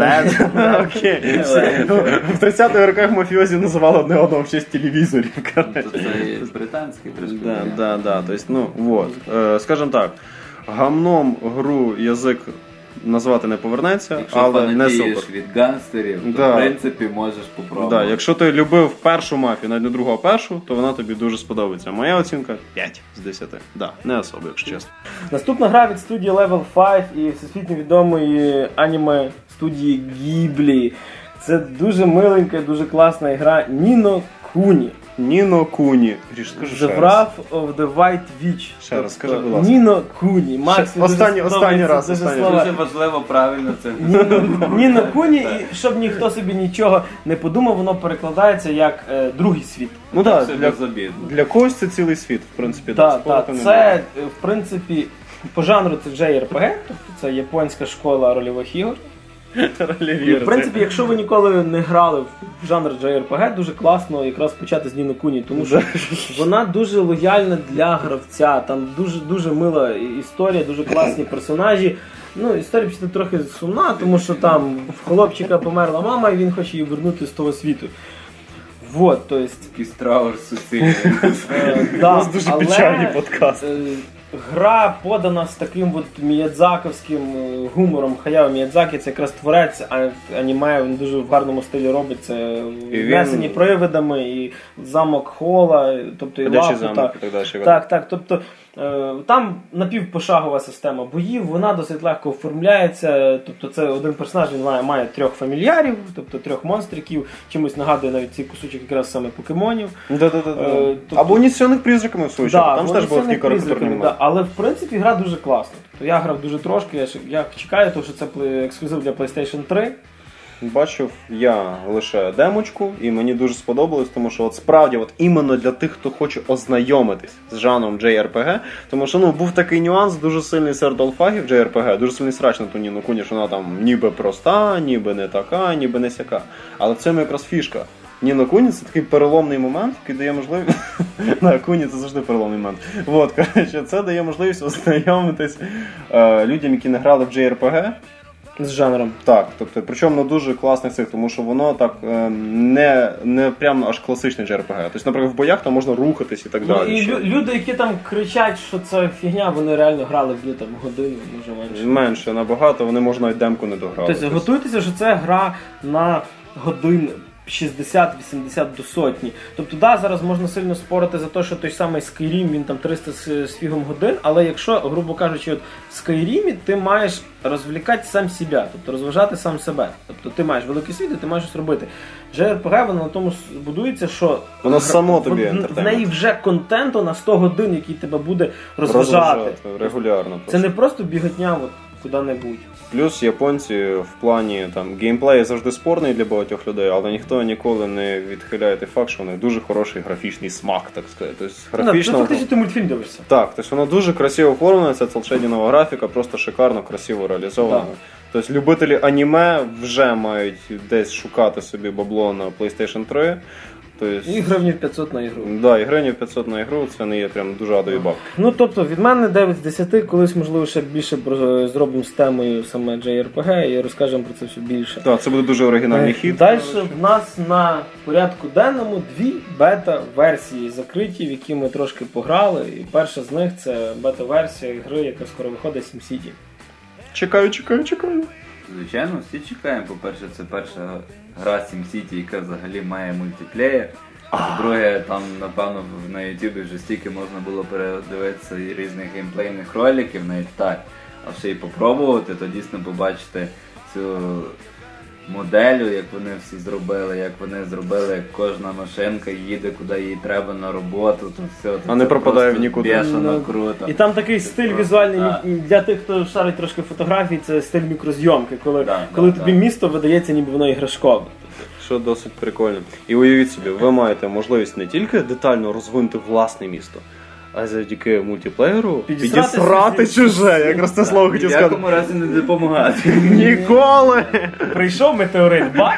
Speaker 2: Окей. В 30-х роках мафіозі називали одне одного в честь телевізорів.
Speaker 3: Це британський трошки.
Speaker 2: Да. Тобто, скажімо так, гамном гру язик назвати не повернеться,
Speaker 3: якщо
Speaker 2: але не супер.
Speaker 3: Якщо від гангстерів, то в принципі можеш попробувати.
Speaker 2: Да, якщо ти любив першу мафію, навіть не другу, а першу, то вона тобі дуже сподобається. Моя оцінка 5 з 10. Да, не особо, якщо чесно.
Speaker 1: Наступна гра від студії Level 5 і всесвітньо відомої аніме студії Ghibli. Це дуже миленька, дуже класна гра Ніно Куні.
Speaker 2: Ніно Куні.
Speaker 1: The Wrath of the White Witch.
Speaker 2: Ще раз, скажи, будь ласка.
Speaker 1: Ніно Куні. Макс,
Speaker 2: останній раз.
Speaker 3: Дуже важливо правильно це.
Speaker 1: Ніно Куні, і щоб ніхто собі нічого не подумав, воно перекладається як другий світ.
Speaker 2: Ну так, для когось це цілий світ, в принципі.
Speaker 1: Так, це, в принципі, по жанру це JRPG, тобто це японська школа рольових ігор. І, в принципі, якщо ви ніколи не грали в жанр JRPG, дуже класно якраз почати з Ніно Куні, тому що вона дуже лояльна для гравця, там дуже мила історія, дуже класні персонажі. Ну, історія після трохи сумна, тому що там в хлопчика померла мама і він хоче її вернути з того світу. Вот, то есть...
Speaker 3: Якийсь траур суцільний.
Speaker 2: У нас дуже печальний подкаст.
Speaker 1: Гра подана з таким от міядзаковським гумором. Хаяо Міядзакі, це якраз творець аніме, він дуже в гарному стилі робить. Це внесені привидами, і замок Хола, тобто і Лапута. Так, тобто там напівпошагова система боїв, вона досить легко оформляється, тобто це один персонаж, він має 3 фамільярів, тобто 3 монстриків, чимось нагадує навіть цей кусочок якраз саме покемонів.
Speaker 2: Або унесених призраками в свою чергу, там теж було такі карикатурні моменти.
Speaker 1: Але в принципі гра дуже класна. Тобто я грав дуже трошки, я чекаю, тому що це ексклюзив для PlayStation 3.
Speaker 2: Бачив я лише демочку, і мені дуже сподобалось, тому що от справді от іменно для тих, хто хоче ознайомитись з жанром JRPG, тому що був такий нюанс, дуже сильний серед алфагів JRPG, дуже сильний срач на ту Ніно Куні, що вона там ніби проста, ніби не така, ніби не сяка. Але в цьому якраз фішка. Ніно Куні це такий переломний момент, який дає можливість... На Куні це завжди переломний момент. Вот, коротше, це дає можливість ознайомитись людям, які не грали в JRPG,
Speaker 1: з жанром.
Speaker 2: Так, тобто, причому на дуже класних цих, тому що воно так не прямо аж класичний JRPG. Тобто, наприклад, в боях там можна рухатись і так далі.
Speaker 1: І люди, які там кричать, що це фігня, вони реально грали в там годину, може менше.
Speaker 2: Менше, набагато, вони можна навіть демку не дограли.
Speaker 1: Тобто, готуйтеся, що це гра на годин 60-80 до сотні. Тобто, зараз можна сильно спорити за те, що той самий Skyrim, він там 300 з фігом годин, але якщо, грубо кажучи, от в Skyrim ти маєш розвлікати сам себе, тобто розважати сам себе. Тобто ти маєш великий світ і ти маєш щось робити. JRPG, воно на тому будується, що
Speaker 2: воно само тобі
Speaker 1: в неї вже контенту на 100 годин, який тебе буде розважати.
Speaker 2: Регулярно.
Speaker 1: Це не просто біготня от куди-небудь.
Speaker 2: Плюс японці в плані геймплею завжди спорний для багатьох людей, але ніхто ніколи не відхиляє той факт, що у них дуже хороший графічний смак, так сказати. Тобто, графічно...
Speaker 1: Це фактично ти мультфільм дивишся.
Speaker 2: Так, тобто воно дуже красиво оформлено, це цел-шейдінова графіка, просто шикарно, красиво реалізована. Тобто любителі аніме вже мають десь шукати собі бабло на PlayStation 3. Тобто...
Speaker 1: І гривнів 500 на ігру.
Speaker 2: Да, і гривнів 500 на ігру, це не є прям дуже адові бабки.
Speaker 1: Ну, тобто, від мене 9 з 10, колись, можливо, ще більше зробимо з темою саме JRPG і розкажемо про це все більше.
Speaker 2: Так, це буде дуже оригінальний хід.
Speaker 1: Далі в нас на порядку денному 2 бета-версії закриті, в які ми трошки пограли. І перша з них це бета-версія гри, яка скоро виходить, SimCity.
Speaker 2: Чекаю.
Speaker 3: Звичайно, всі чекаємо. По-перше, це перша гра SimCity, яка взагалі має мультиплеєр. По-друге, там, напевно, на YouTube вже стільки можна було передивитися і різних геймплейних роликів, навіть так. А ще й попробувати, то дійсно побачити цю моделю, як вони всі зробили, як вони зробили, як кожна машинка їде, куди їй треба на роботу, то все.
Speaker 2: А не пропадає в нікуди.
Speaker 3: Бешено круто.
Speaker 1: І там такий стиль візуальний, для тих, хто шарить трошки фотографій, це стиль мікрозйомки, коли тобі місто видається, ніби воно іграшкове.
Speaker 2: Що досить прикольно. І уявіть собі, ви маєте можливість не тільки детально розвинути власне місто, а завдяки мультиплеєру підісрати чуже. Якраз це слово хотів сказати.
Speaker 3: В якому разі не допомагати.
Speaker 2: Ніколи!
Speaker 1: Прийшов метеорит, бах!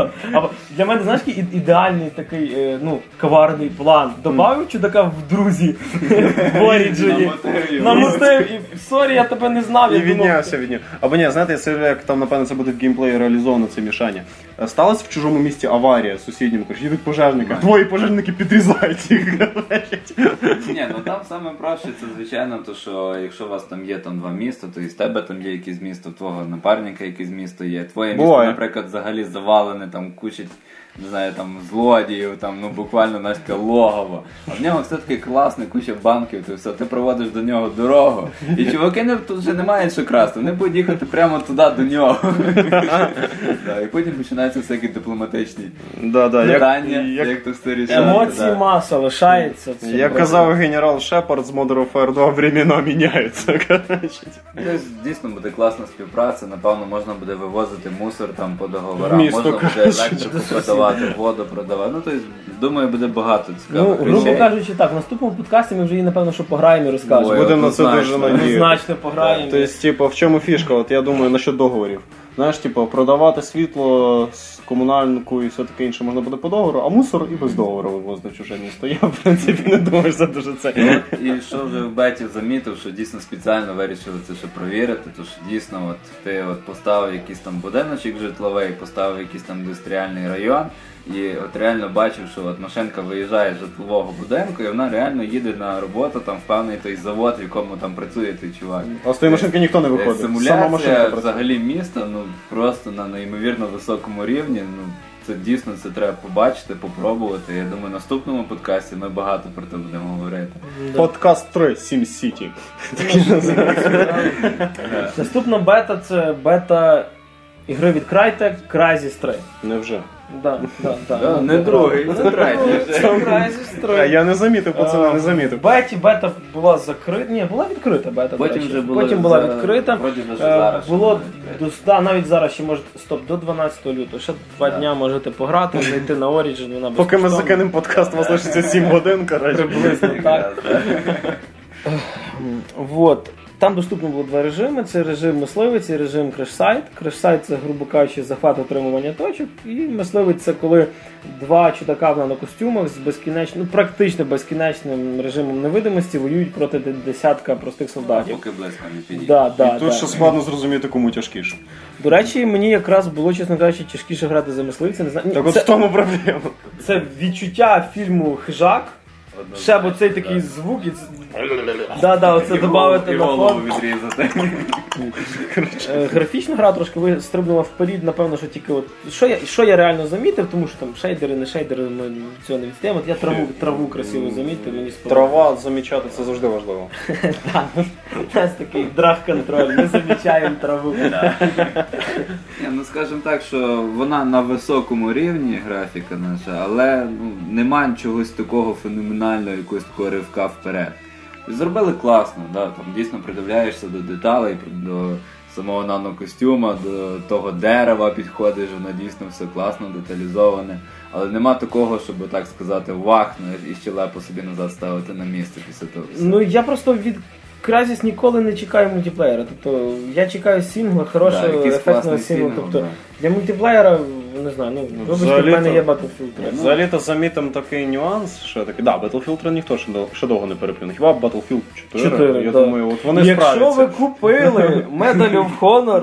Speaker 1: Для мене, знаєш, ідеальний такий, коварний план. Добавив чудака в друзі в Origin. Намотив і сорі, я тебе не знав.
Speaker 2: І віднявся від нього. Або ні, знаєте, як там, напевно, це буде в геймплеї реалізовано, це мішання. сталася в чужому місті аварія з сусідніми, їдуть пожежники, твої пожежники підрізають їх.
Speaker 3: Ні, ну там саме проще, це звичайно, то що якщо у вас там є там 2 міста, то і з тебе там є якесь місто, в твого напарника якесь місто є, твоє місто, наприклад, взагалі завалене, там куча, не знаю, там злодіїв, там, ну буквально наське логово. А в нього все-таки класне, куча банків, ти все, ти проводиш до нього дорогу. І чуваки тут вже не мають що красти, вони будуть їхати прямо туди до нього. І потім починаються всякі дипломатичні питання, як то все рішати.
Speaker 1: Емоції маса лишається.
Speaker 2: Як казав генерал Шепард з Modern Warfare 2, времена міняються.
Speaker 3: Дійсно буде класна співпраця, напевно, можна буде вивозити мусор там по договорам, можна буде електрику продавати, воду продавати. Ну, тобто, думаю, буде багато цікавих речей.
Speaker 1: Грубо кажучи, так, в наступному подкасті ми вже її, напевно, що пограємо і розкажемо.
Speaker 2: Будемо на це дуже надіятися.
Speaker 1: Значно пограємо.
Speaker 2: Тобто, в чому фішка? От я думаю, насчет договорів. Знаєш, продавати світло з комунальнику і все таке інше можна буде по договору, а мусор і без договору вивозити в чуже місто. Я, в принципі, не думаю, що це дуже це.
Speaker 3: І що вже в беті замітив, що дійсно спеціально вирішили це ще провірити, то що дійсно от ти от поставив якийсь там будиночок житловий, поставив якийсь там індустріальний район, і от реально бачив, що от машинка виїжджає з житлового будинку, і вона реально їде на роботу там в певний той завод, в якому там працює той чувак.
Speaker 2: А з тої машинки ніхто не виходить.
Speaker 3: Симуляція взагалі міста, ну просто на неймовірно високому рівні. Ну це дійсно це треба побачити, попробувати. Я думаю, в наступному подкасті ми багато про це будемо говорити.
Speaker 2: Подкаст 3 SimCity.
Speaker 1: Наступна бета — це бета ігри від Crytek Crysis 3.
Speaker 2: Невже?
Speaker 1: Да.
Speaker 3: Не другий, це третій.
Speaker 1: Це Crysis 3.
Speaker 2: А я не замітив, пацани, не замітив.
Speaker 1: Бета була закрита. Ні, була відкрита бета.
Speaker 3: Потім
Speaker 1: була відкрита. Було навіть зараз ще може до 12 лютого. Ще 2 дня можете пограти, зайти на Origin.
Speaker 2: Поки ми закинемо подкаст, у вас лишиться 7 годин, коротше.
Speaker 1: Приблизно так. Вот. Там доступно було 2 режими. Це режим мисливець і режим креш-сайт. Креш-сайт — це, грубо кажучи, захват отримування точок. І мисливець — це коли 2 чудака в нанокостюмах з безкінечним, практично безкінечним режимом невидимості воюють проти десятка простих солдатів.
Speaker 3: Поки близько не підійде.
Speaker 2: І тут ще складно зрозуміти, кому тяжкіше.
Speaker 1: До речі, мені якраз було, чесно кажучи, тяжкіше грати за мисливця. Не знаю.
Speaker 2: Так от в тому проблема.
Speaker 1: Це відчуття фільму «Хижак». Ще б оцей такий звук і оце додати на фон. Графічна гра трошки стрибнула вперед, напевно, що тільки от що я реально замітив, тому що там шейдери, не шейдери, ми цього не відстаємо. От я траву красиво замітив, мені сподобалося.
Speaker 2: Трава замічати — це завжди важливо.
Speaker 1: Так, у нас такий драг-контроль, ми замічаємо траву.
Speaker 3: Ну, скажімо так, що вона на високому рівні, графіка наша, але немає чогось такого феноменального, якогось такого ривка вперед. Зробили класно, да, там дійсно придивляєшся до деталей, до самого нанокостюма, до того дерева підходиш, воно дійсно все класно, деталізоване. Але нема такого, щоб так сказати, вах, і щелепу собі назад ставити на місце після того всього.
Speaker 1: Ну я просто від Crysis ніколи не чекаю мультиплеєра. Тобто я чекаю сінгла, хорошого, ефектного сінгла. Тобто для мультиплеєра, не знаю, вибачте, в мене є Battlefield 3.
Speaker 2: Взагалі-то замітим такий нюанс, що такий, Battlefield 3 ніхто ще довго не переплюне. Хіба Battlefield 4, я думаю, от вони справляться.
Speaker 1: Якщо ви купили Medal of Honor,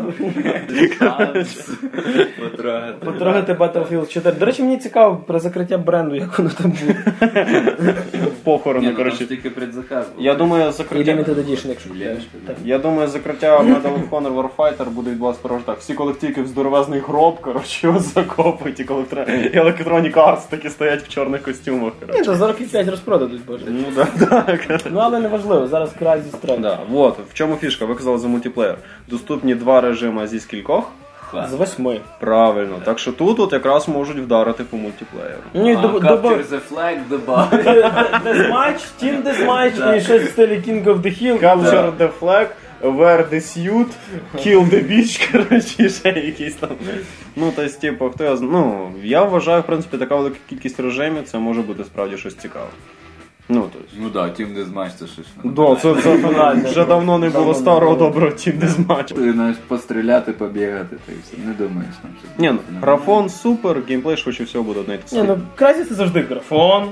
Speaker 1: потрогати Battlefield 4. До речі, мені цікаво про закриття бренду, як воно там буде.
Speaker 2: Похорони, коротше.
Speaker 3: Тільки предзаказ.
Speaker 2: Я думаю, закриття...
Speaker 1: Limited Edition, якщо
Speaker 2: Я думаю, закриття Medal of Honor Warfighter буде відбуватися просто так. Всі колективки в здоровезний гроб, коротше, його закопують, і Electronic Arts такі стоять в чорних костюмах.
Speaker 1: Ні, то за років 5 розпродадуть, боже.
Speaker 2: Ну, так.
Speaker 1: Ну, але не важливо, зараз Crysis 3.
Speaker 2: Да, вот, в чому фішка? Ви казали за мультиплеєр. Доступні 2 режими зі скількох?
Speaker 1: З 8.
Speaker 2: Правильно. Так що тут от якраз можуть вдарити по мультиплеєру.
Speaker 3: Capture the flag, добавить.
Speaker 1: Deathmatch, Team Deathmatch і щось в стилі King of the Hill.
Speaker 2: Capture the flag, wear the suit, kill the bitch, коротше, ще якісь там. Ну, тобто, типу, хто я знає. Ну, я вважаю, в принципі, така велика кількість режимів, це може бути справді щось цікаве. Ну, тобто.
Speaker 3: Ну так, Team Deathmatch це щось.
Speaker 2: Да, це фінально. Вже давно не було старого доброго Team Deathmatch.
Speaker 3: Ти знаєш, постріляти, побігати, та і все. Не думаєш там щось.
Speaker 2: Ні, ну, графон супер, геймплей швидше всього буде одне і те
Speaker 1: Ні, ну Crysis це завжди графон,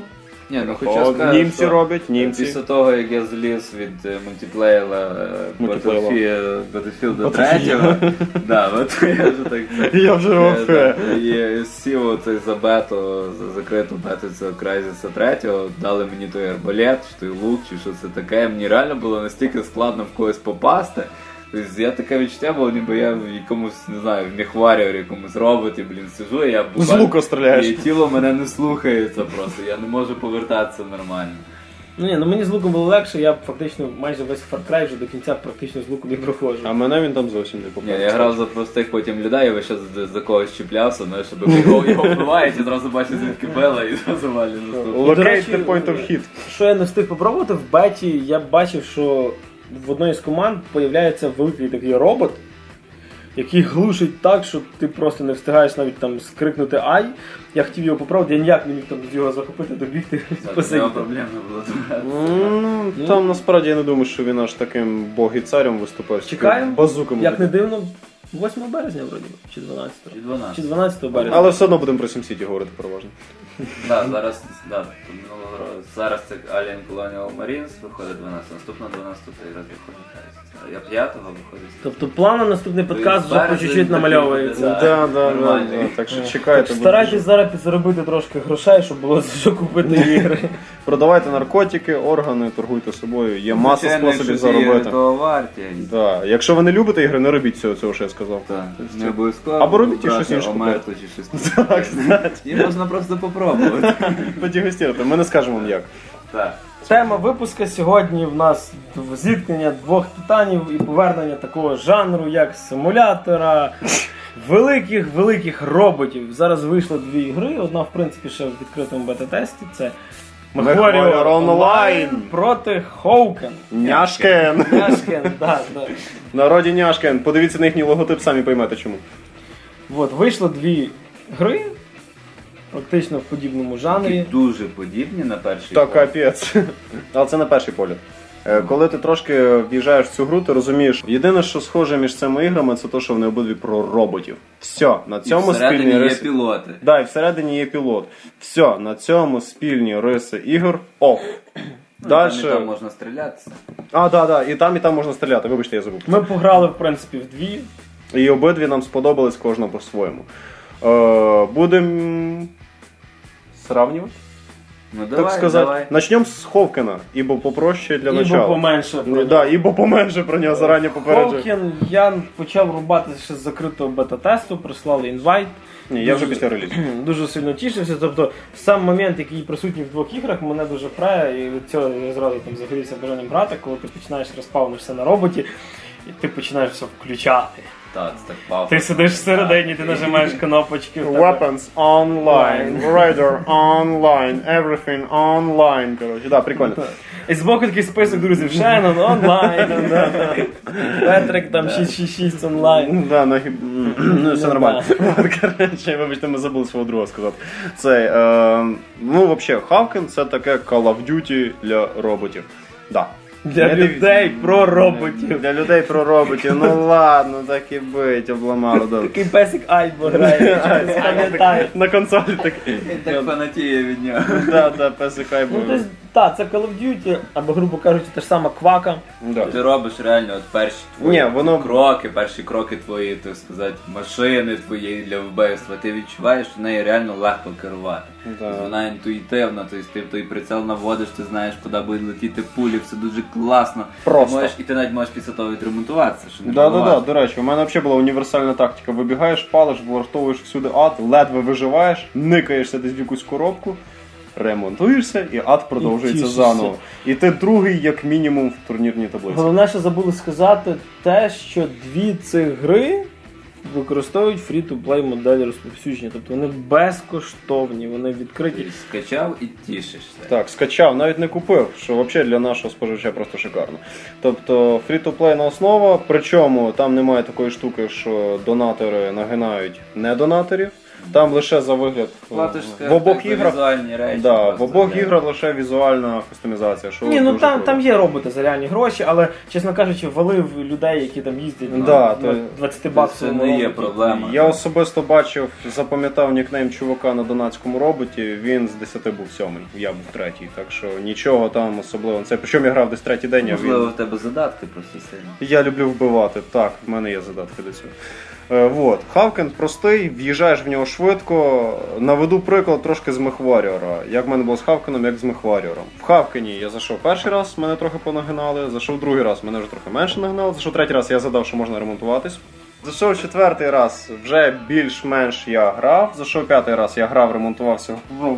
Speaker 3: Ні, ну хоча сказати,
Speaker 2: німці роблять, німці.
Speaker 3: Після того, як я зліз від мультиплеєра Battlefield 3, от я вже так...
Speaker 2: Я вже вообще.
Speaker 3: І сів оцей за бету, за закриту бету цього Crysis 3, дали мені той арбалет, чи той лук, чи що це таке. Мені реально було настільки складно в когось попасти. Тобто я таке відчуття було, ніби я в якомусь, не знаю, в мехваріорі, якомусь роботі, сижу, і я буквально...
Speaker 2: З лука стріляєш.
Speaker 3: І тіло мене не слухається просто, я не можу повертатися нормально.
Speaker 1: Ну мені з луком було легше, я фактично майже весь Far Cry вже до кінця практично з луком не проходжу.
Speaker 2: А мене він там зовсім не попав.
Speaker 3: Ні, я грав за простих потім людей, і весь за когось чіплявся, знаєш, щоб його вбивають, і зразу бачу звідки била, і зразу валі наступний.
Speaker 2: Locate the point of hit.
Speaker 1: Що я не встиг попробувати, в беті я бачив, що в одній з команд появляється великий такий робот, який глушить так, що ти просто не встигаєш навіть там скрикнути «Ай!». Я хотів його попробувати, я ніяк не міг там його захопити, добігти, посидіти.
Speaker 3: Проблем не було.
Speaker 2: Там насправді я не думаю, що він аж таким бог-і-царем виступає.
Speaker 1: Чекаємо,
Speaker 2: базуками.
Speaker 1: Як не дивно, 8 березня вроді, чи 12? Чи 12 березня.
Speaker 2: Але все одно будемо про SimCity говорити переважно.
Speaker 3: Зараз це Alien Colonial Marines виходить 12, наступна 12 раз виходить. Я 5-го виходить.
Speaker 1: Тобто план на наступний подкаст вже по чуть-чуть намальовується.
Speaker 2: Да. Так що чекайте.
Speaker 1: Старайтесь зараз підзаробити трошки грошей, щоб було за що купити ігри.
Speaker 2: Продавайте наркотики, органи, торгуйте собою. Є маса способів заробити. Да. Якщо ви не любите ігри, не робіть цього, що я сказав.
Speaker 3: Не обов'язково.
Speaker 2: Або робіть щось інше.
Speaker 3: Омерту чи щось. І можна просто попробувати.
Speaker 2: Подігустувати. Ми не скажемо вам як.
Speaker 3: Так.
Speaker 1: Тема випуска сьогодні в нас зіткнення двох титанів і повернення такого жанру, як симулятора великих роботів. Зараз вийшло 2 ігри, одна в принципі ще в відкритому бета-тесті, це
Speaker 2: MechWarrior Online
Speaker 1: проти Hawken.
Speaker 2: Няшкен.
Speaker 1: Да.
Speaker 2: В народі Няшкен. Подивіться на їхній логотип, самі поймете чому.
Speaker 1: От, вийшло 2 гри. Практично в подібному жанрі.
Speaker 3: Дуже подібні на перший
Speaker 2: погляд. Так, капець. Але це на перший погляд. Коли ти трошки в'їжджаєш в цю гру, ти розумієш, єдине, що схоже між цими іграми, це те, що вони обидві про роботів. Все, на цьому спільні риси.
Speaker 3: Є пілоти.
Speaker 2: Да, і всередині є пілот. Все, на цьому спільні риси ігор. Оф.
Speaker 3: Дальше... Там можна стрілятися.
Speaker 2: Да, і там можна стріляти, вибачте, я забув.
Speaker 1: Ми пограли, в принципі, в 2.
Speaker 2: І обидві нам сподобались, кожна по-своєму. Будемо сравнивать?
Speaker 3: Ну давай,
Speaker 2: так сказати.
Speaker 3: Давай.
Speaker 2: Начнем з Ховкена, ібо попроще для начала.
Speaker 1: Ібо поменше про нього.
Speaker 2: Да, ібо поменше про нього зарані попереджую.
Speaker 1: Ховкен я почав рубати ще з закритого бета-тесту, прислали інвайт.
Speaker 2: Ні, я вже після релізу.
Speaker 1: Дуже сильно тішився, тобто сам момент, який присутній в 2 іграх, мене дуже прає, і від цього я зразу там загорівся бажанням грати, коли ти починаєш розпавнишся на роботі, і ти починаєш все включати.
Speaker 3: Так, це так пафосно.
Speaker 1: Ти сидиш всередині, ти нажимаєш кнопочки.
Speaker 2: Weapons online, Radar online, everything online. Коротше, да, прикольно.
Speaker 1: І збоку такий список друзів. Shannon онлайн, Петрик там 666 онлайн.
Speaker 2: Да, ну все нормально. Коротше, вибачте, ми забули свого друга сказати. Це, ну, взагалі, Хавкен це таке Call of Duty для роботів. Да.
Speaker 1: Для людей про роботів.
Speaker 2: Для людей про роботів. Ну ладно, так і бить, обламало.
Speaker 1: Такий песик Айбо грає, пам'ятає.
Speaker 2: На консолі такий.
Speaker 3: Він так фанатіє від нього.
Speaker 2: Да, песик Айбо.
Speaker 1: Так, це Call of Duty, або, грубо кажучи, та ж сама Квака.
Speaker 3: Ти робиш реально от перші твої кроки, перші кроки твої, так сказати, машини твоєї для вбивства. Ти відчуваєш, що нею реально легко керувати. Вона інтуїтивна, тобто ти той прицел наводиш, ти знаєш, куди будуть летіти пулі, все дуже класно.
Speaker 2: Просто.
Speaker 3: І ти навіть можеш після того відремонтуватися.
Speaker 2: Да, до речі, у мене взагалі була універсальна тактика. Вибігаєш, палиш, влаштовуєш всюди ад, ледве виживаєш, никаєшся десь в якусь коробку, ремонтуєшся, і ад продовжується заново. І ти другий, як мінімум, в турнірній таблиці.
Speaker 1: Головне, що забули сказати, те, що 2 цих гри використовують фрі-ту-плей моделі розповсюдження. Тобто вони безкоштовні, вони відкриті.
Speaker 3: Ти скачав і тішишся.
Speaker 2: Так, скачав, навіть не купив, що взагалі для нашого споживача просто шикарно. Тобто фрі-ту-плейна основа, причому там немає такої штуки, що донатори нагинають недонаторів. Там лише за вигляд.
Speaker 3: Платиш
Speaker 2: В обох іграх
Speaker 3: візуальні речі.
Speaker 2: Да, в обох іграх лише візуальна кастомізація. Що
Speaker 1: ні, ну там є роботи за реальні гроші, але, чесно кажучи, валив людей, які там їздять
Speaker 2: на
Speaker 1: 20 баксів.
Speaker 3: Це не є проблема.
Speaker 2: Я особисто бачив, запам'ятав нікнейм чувака на донатському роботі, він з 10 був 7-й, я був 3-й, так що нічого там особливо. Це причому я грав десь 3-й день, а він...
Speaker 3: Можливо, в тебе задатки просто сильні.
Speaker 2: Я люблю вбивати, так, в мене є задатки до цього. Вот. Хавкен простий, в'їжджаєш в нього швидко. Наведу приклад трошки з Мехваріора. Як в мене було з Хавкеном, як з Мехваріором. В Хавкені я зайшов перший раз, мене трохи понагинали. Зайшов другий раз, мене вже трохи менше нагинали. Зайшов третій раз, я задав, що можна ремонтуватись. Зайшов четвертий раз, вже більш-менш я грав. Зайшов п'ятий раз, я грав, ремонтувався.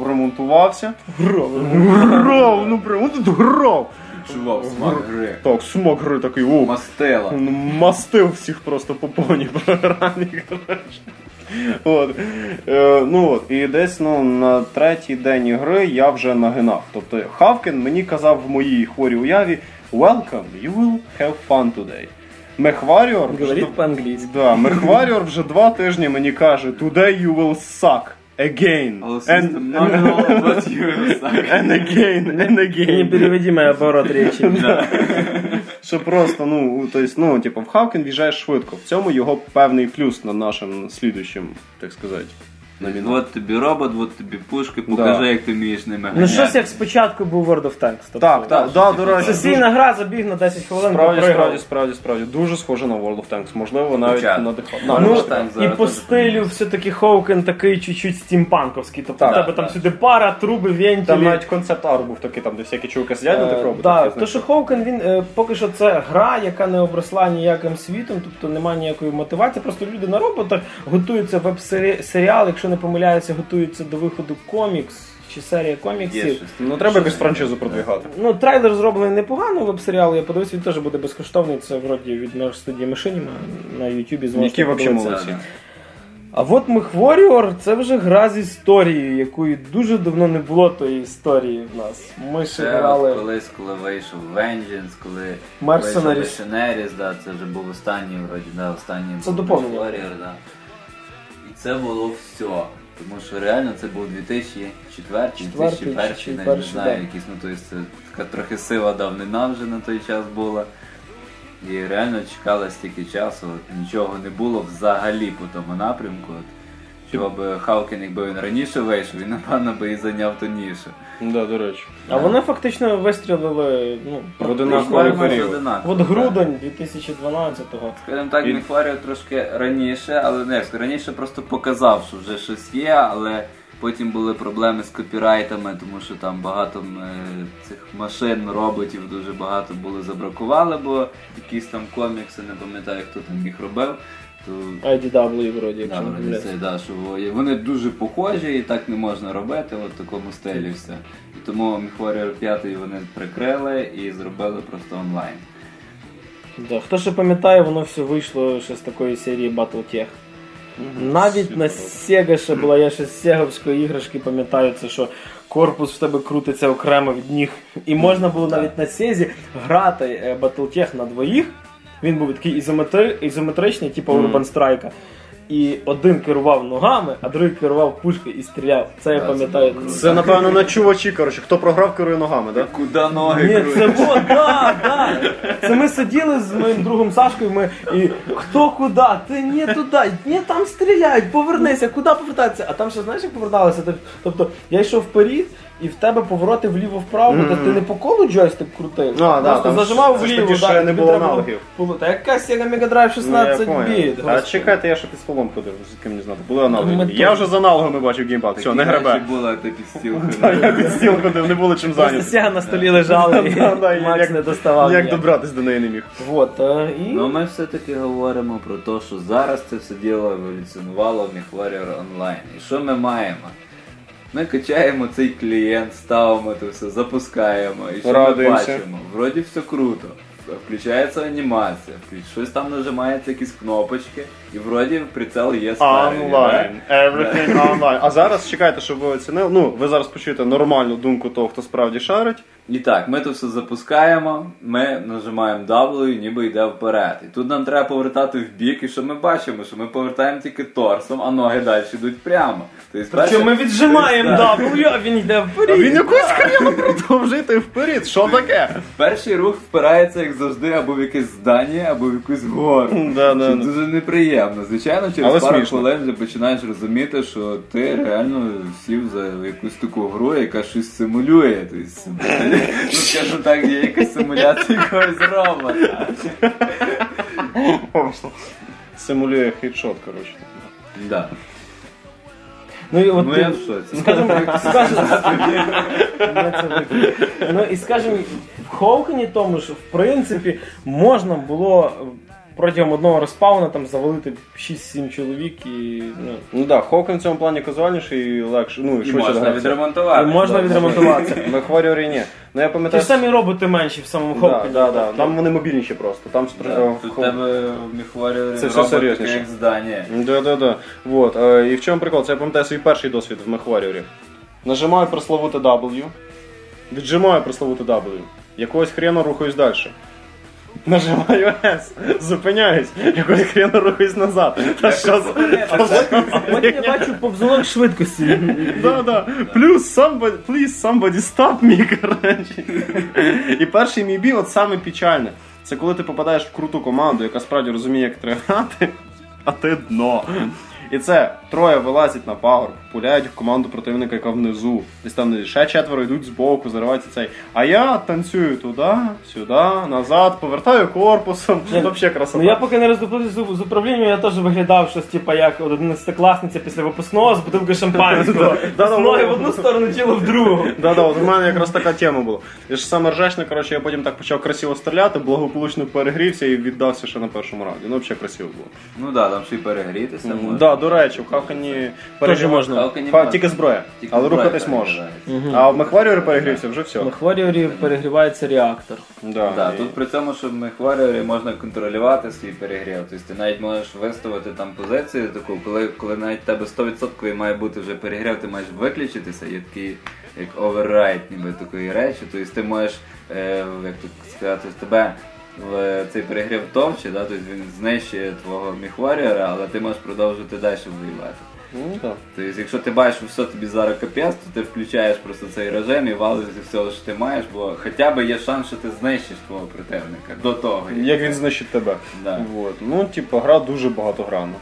Speaker 2: Грав, ну прямо тут грав.
Speaker 3: Чувак, смак гри.
Speaker 2: Так, смак гри такий,
Speaker 3: Мастила.
Speaker 2: Мастив всіх просто по повній програмі, коротше. От. І десь на третій день ігри я вже нагинав. Тобто Хавкен мені казав в моїй хворій уяві "Welcome, you will have fun today". Мехваріор
Speaker 1: говорить по-англійськи.
Speaker 2: Да, Мехваріор вже 2 тижні мені каже "Today you will suck". Again. And again.
Speaker 1: Не переведимый оборот речи.
Speaker 2: Що просто, в Хавкен в'їжджаєш швидко. В цьому його певний плюс над нашим слідуючим, так сказати.
Speaker 3: От тобі робот, от тобі пушки, покажи, як ти вмієш ними ганяти.
Speaker 1: Ну щось як спочатку був World of Tanks.
Speaker 2: Так, до речі.
Speaker 1: Сесійна гра, забіг на 10 хвилин,
Speaker 2: Справді. Дуже схоже на World of Tanks. Можливо, навіть
Speaker 1: і по стилю все-таки Хавкен такий чуть-чуть стімпанковський. Тобто в тебе там сюди пара, труби, вентилі.
Speaker 2: Там навіть концепт-арт був такий, там де всякі чуваки сидять на тих роботах.
Speaker 1: Так, то що Хавкен, він поки що це гра, яка не обросла ніяким світом, тобто немає ніякої мотивації. Просто люди на роботах готуються веб-серіал, якщо не помиляюся, готуються до виходу комікс чи серія коміксів.
Speaker 2: Треба якусь франшизу продвигати.
Speaker 1: Трейлер зроблений непогано, веб-серіал, я подивився, він теж буде безкоштовний, це вроді від студії Мишиніма на Ютубі.
Speaker 2: Які взагалі молодці.
Speaker 1: А от Мехваріор, це вже гра з історією, якої дуже давно не було тої історії в нас. Ми ще грали...
Speaker 3: Колись, коли вийшов Vengeance, коли
Speaker 1: вийшов
Speaker 3: Mercenaries, це вже був останній, останній Мехваріор, І це було все. Тому що реально це був 2004, 2001, не знаю, якийсь, це така трохи сива давнина вже на той час була. І реально чекали стільки часу, нічого не було взагалі по тому напрямку. Чого б Хавкен, якби він раніше вийшов, він, напевно, би і зайняв ту нішу.
Speaker 2: Да, до речі.
Speaker 1: А вони фактично вистрілили
Speaker 2: в одинаковий період.
Speaker 1: От грудень 2012-го.
Speaker 3: Скажімо так, Мехваріор трошки раніше, але раніше просто показав, що вже щось є, але потім були проблеми з копірайтами, тому що там багато цих машин, роботів дуже багато були забракували, бо якісь там комікси, не пам'ятаю, хто там їх робив.
Speaker 1: IDW вроді, якщо не помиляюсь.
Speaker 3: Що вони дуже похожі і так не можна робити, в такому стилі все. І тому Мехваріор 5 вони прикрили і зробили просто онлайн.
Speaker 1: Хто ще пам'ятає, воно все вийшло ще з такої серії Battletech. Навіть на Sega ще була, я ще з сеговської іграшки пам'ятаю, це що корпус в тебе крутиться окремо від ніг. І можна було навіть на Sega грати Battletech на двоїх. Він був такий ізометричний, типу Urban Strike. І один керував ногами, а другий керував пушкою і стріляв. Це я пам'ятаю.
Speaker 2: Це, напевно, на чувачі, хто програв, керує ногами, так?
Speaker 3: Куди ноги керує?
Speaker 1: Ні, це було, Це ми сиділи з моїм другом Сашкою, і хто куди? Ти не туди, не там стріляють, повернися, куди повертатися? А там ще, знаєш, як поверталося? Тобто, я йшов вперед, і в тебе повороти вліво-вправо, то ти не по колу джойстик крутив, просто зажимав вліво.
Speaker 2: Тоді ще не було аналогів.
Speaker 1: Та яка Sega Mega Drive 16 біт?
Speaker 2: А чекайте, я ще під столом ходив, з ким не знати, були аналоги. Я вже з аналогами бачив геймпад, все, не гребе.
Speaker 3: Такі були, ти під стіл
Speaker 2: ходив. Я під стіл ходив, не було чим зайняти.
Speaker 1: Просто Sega на столі лежала, і Макс не доставав.
Speaker 2: Як добратись до неї не міг.
Speaker 3: Ну ми все-таки говоримо про те, що зараз це все діло еволюціонувало в Мехваріор онлайн. І що ми маємо? Ми качаємо цей клієнт, ставимо це все, запускаємо і що ми бачимо? Вроді все круто. Включається анімація, щось там нажимається, якісь кнопочки, і вроді прицел є старий.
Speaker 2: Онлайн, everything online. А зараз, чекайте, щоб ви оцінили, ви зараз почуєте нормальну думку того, хто справді шарить,
Speaker 3: І так, ми то все запускаємо, ми нажимаємо W, ніби йде вперед. І тут нам треба повертати в бік, і що ми бачимо? Що ми повертаємо тільки торсом, а ноги далі йдуть прямо.
Speaker 1: Причому ми віджимаємо W, а він йде вперед.
Speaker 2: А він якусь хрена продовжує йти вперед. Що таке?
Speaker 3: Перший рух впирається, як завжди, або в якесь здання, або в якусь гору. Це дуже неприємно. Звичайно, через пару хвилин вже починаєш розуміти, що ти реально сів за якусь таку гру, яка щось симулює. Ну, скажу так, є якась симуляція якогось робота.
Speaker 2: Симулює хедшот, коротше.
Speaker 3: Да.
Speaker 1: Ну і от
Speaker 3: я в шоці.
Speaker 1: Скажімо, в Хоукені тому ж, в принципі, можна було протягом одного респауна там завалити 6-7 чоловік і...
Speaker 2: Ну так, Хоукен в цьому плані казуальніший і легше, ну і швидше
Speaker 3: можна
Speaker 2: гратися.
Speaker 3: відремонтувати.
Speaker 1: І можна відремонтуватися.
Speaker 2: В MechWarrior ні. Ну я
Speaker 1: Ті
Speaker 2: пам'ятаю...
Speaker 1: ж самі роботи менші в самому Хоукені.
Speaker 2: Так. Там вони мобільніші просто. Там
Speaker 3: Тут тебе в MechWarrior
Speaker 2: це все
Speaker 3: робот
Speaker 2: серйозніше.
Speaker 3: як здання.
Speaker 2: Да. Вот. І в чому прикол? Це я пам'ятаю свій перший досвід в MechWarrior. Нажимаю пресловуте W, віджимаю пресловуте W, якогось хрена рухаюсь далі. Нажимаю S, зупиняюсь, якогось хрена рухаюсь назад. Та що за...
Speaker 1: А потім я бачу повзунок швидкості.
Speaker 2: Да. Плюс please somebody stop me, коротше. І перший мій бій, от саме печальне, це коли ти попадаєш в круту команду, яка справді розуміє, як треба грати, а ти дно. І це троє вилазять на пагорб, пуляють в команду противника, яка внизу. Десь там ще 4 йдуть збоку, зариваються цей. А я танцюю туди, сюди, назад, повертаю корпусом. Взагалі красота.
Speaker 1: Ну я поки не роздуплився з управлінням, я теж виглядав щось, типа, як 11-класниця після випускного з бутилки шампанського. З ноги в одну сторону, тіло в другу.
Speaker 2: От у мене якраз така тема була. Я ж саме ржачне, коротше, я потім так почав красиво стріляти, благополучно перегрівся і віддався ще на першому раунді. Ну, взагалі красиво було.
Speaker 3: Ну так, там ще й перегрітися можна.
Speaker 2: Да, до речі, в Хавкані
Speaker 1: можна.
Speaker 2: Тільки зброя, але рухатись можеш. А в MechWarrior перегрівся, вже все.
Speaker 1: В MechWarrior перегрівається реактор.
Speaker 3: Да, тут при цьому, що в MechWarrior можна контролювати свій перегрів. Тобто ти навіть можеш виставити там позицію таку, коли навіть в тебе 100% має бути вже перегрів, ти маєш виключитися, є такий як override, ніби такої речі. Тобто ти можеш, як тут сказати, з тебе цей перегрів товче, да? Тобто він знищує твого MechWarrior, але ти можеш продовжувати далі воювати. Тобто, якщо ти бачиш, що все тобі зараз капець, то ти включаєш просто цей режим і валиш зі всього, що ти маєш, бо хоча б є шанс, що ти знищиш твого противника до того.
Speaker 2: Як він знищить тебе.
Speaker 3: Да.
Speaker 2: Вот. Ну, типу, гра дуже багатогранна.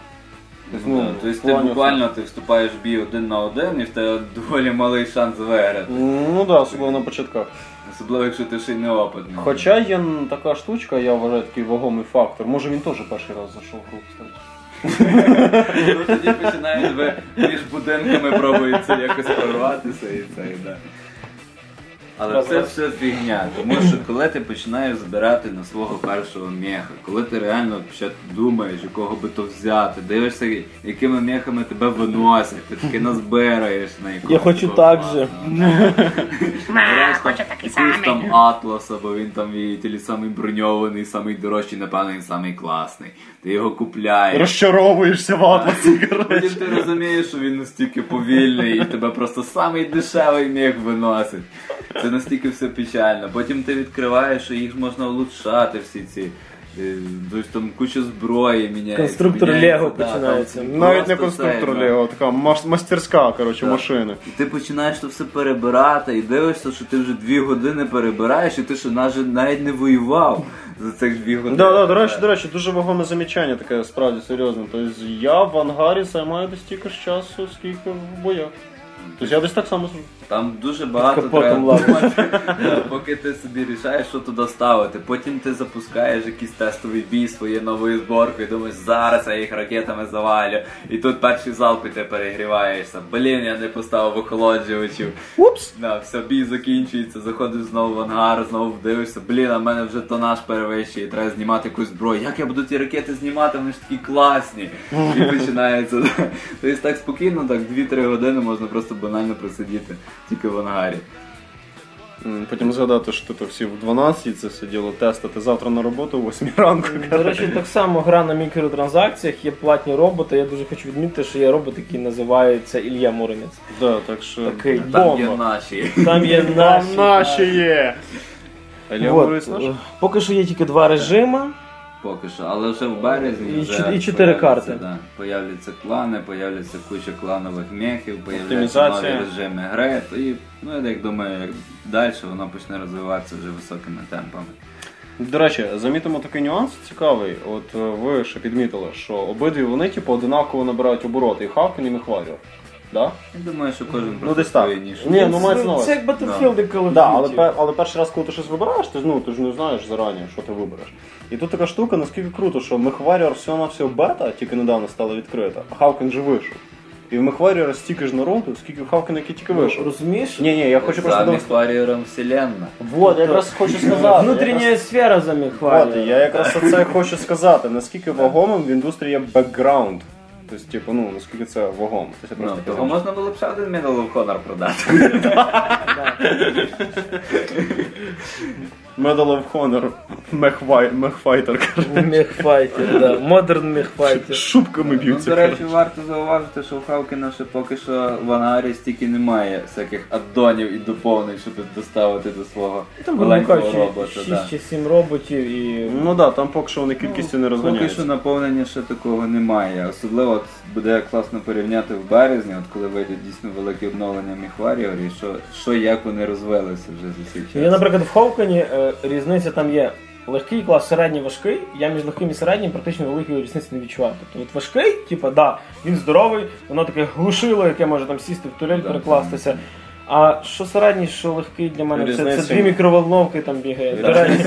Speaker 3: Тобто ти буквально вступаєш в бій 1 на 1 і в тебе доволі малий шанс виграти.
Speaker 2: Ну так, особливо на початках.
Speaker 3: Особливо, якщо ти ще й неопитний.
Speaker 2: Хоча є така штучка, я вважаю, такий вагомий фактор. Може він теж перший раз зайшов в гру, кстати.
Speaker 3: Ну тоді починають між будинками пробується якось прорватися і це, да. Але це все фігня, тому що коли ти починаєш збирати на свого першого меха, коли ти реально ще думаєш, якого би то взяти, дивишся, якими мехами тебе виносять, ти таки назбираєш на якогось.
Speaker 1: Я хочу так же.
Speaker 3: Хочу такий самий. Там Атласа, бо він там і самий броньований, самий дорожчий, напевно, він самий класний. Ти його купляєш.
Speaker 2: Розчаровуєшся в Атласі,
Speaker 3: Потім ти розумієш, що він настільки повільний і тебе просто самий дешевий мех виносить. Це настільки все печально. Потім ти відкриваєш, що їх можна влучшати всі ці. Тобто там куча зброї міняється.
Speaker 1: Конструктор Лего починається.
Speaker 2: Навіть не конструктор Лего, така мастерська, коротше, машина.
Speaker 3: І ти починаєш то все перебирати і дивишся, що ти вже 2 години перебираєш, і ти ще навіть не воював за цих 2 години.
Speaker 2: Да, до речі, дуже вагоме замічання таке, справді серйозне. Тобто я в ангарі займаю десь стільки ж часу, скільки в боях. Тобто я десь так само зроблю.
Speaker 3: Там дуже багато треба думати, поки ти собі рішаєш, що туди ставити. Потім ти запускаєш якийсь тестовий бій своєю новою зборкою і думаєш, зараз я їх ракетами завалю. І тут перший залп і ти перегріваєшся. Блін, я не поставив охолоджувачів.
Speaker 2: Упс!
Speaker 3: Все, бій закінчується, заходиш знову в ангар, знову дивишся, блін, а в мене вже тонаж перевищує, треба знімати якусь зброю. Як я буду ті ракети знімати, вони ж такі класні. І починається. Тобто так спокійно, так 2-3 години можна просто банально просидіти. Тільки в ангарі.
Speaker 2: Потім згадати, що тут всі в 12 це все діло тестити завтра на роботу о 8 ранку.
Speaker 1: До речі, так само гра на мікротранзакціях, є платні роботи. Я дуже хочу відмітити, що є робот, який називається Ілля Муромець.
Speaker 2: Да, так що...
Speaker 1: Такий
Speaker 3: Там є наші.
Speaker 1: Там є
Speaker 2: наші є! Ілля Муромець наш?
Speaker 1: Поки що є тільки 2 режими.
Speaker 3: Поки що, але вже в березні
Speaker 1: і 4 карти.
Speaker 3: Да, появляться клани, появляться куча кланових мехів, появляться нові режими гри. І, я так думаю, як далі воно почне розвиватися вже високими темпами.
Speaker 2: До речі, замітимо такий нюанс цікавий. От ви ще підмітили, що обидві вони одинаково набирають обороти, і Хавкен, і Мехваріор. Да?
Speaker 3: Я думаю, що кожен
Speaker 2: просто свою нішу. Ні, мається на увазі.
Speaker 1: Це як Battlefield і Call of Duty.
Speaker 2: Да, але перший раз, коли ти щось вибираєш, ти ж не знаєш зарані, що ти вибереш. І тут така штука, наскільки круто, що Мехваріор всього-навсього бета, тільки недавно стала відкрита, а Хавкен же вийшов. І в Мехваріора стільки ж народу, скільки в Хавкена, який тільки вийшов.
Speaker 1: Розумієш?
Speaker 2: Ні, я хочу просто...
Speaker 3: За Мехваріором вселенна.
Speaker 2: Вот, я якраз хочу сказати.
Speaker 1: Внутрішня сфера за Мехваріором.
Speaker 2: От, я якраз це хочу сказати, наскільки вагомим в індустрії є бекграунд. Тобто, наскільки це вагомо.
Speaker 3: Того можна було б ще один Medal of Honor продати.
Speaker 2: Medal of Honor, Мехфайтер.
Speaker 1: Мехфайтер, да. Модерн Мехфайтер.
Speaker 2: Шубками б'ються.
Speaker 3: До речі, варто зауважити, що у Хавкена ще поки що в ангарі стільки немає всяких аддонів і доповнень, щоб доставити до свого маленького робота.
Speaker 1: 6 чи 7 роботів і...
Speaker 2: Там поки що вони кількістю не розганяються.
Speaker 3: Поки що наповнення ще такого немає. Особливо буде класно порівняти в березні, коли вийдуть дійсно великі обновлення Мехваріорі, що як вони розвилися вже за цей час.
Speaker 1: Я, наприклад, в Хавкені різниця там є легкий клас, середній, важкий. Я між легким і середнім практично великої різниці не відчував. Тобто от важкий, він здоровий, воно таке глушило, яке може там сісти в турель, перекластися. А що середній, що легкий для мене, це 2 мікроволновки там бігає. До речі,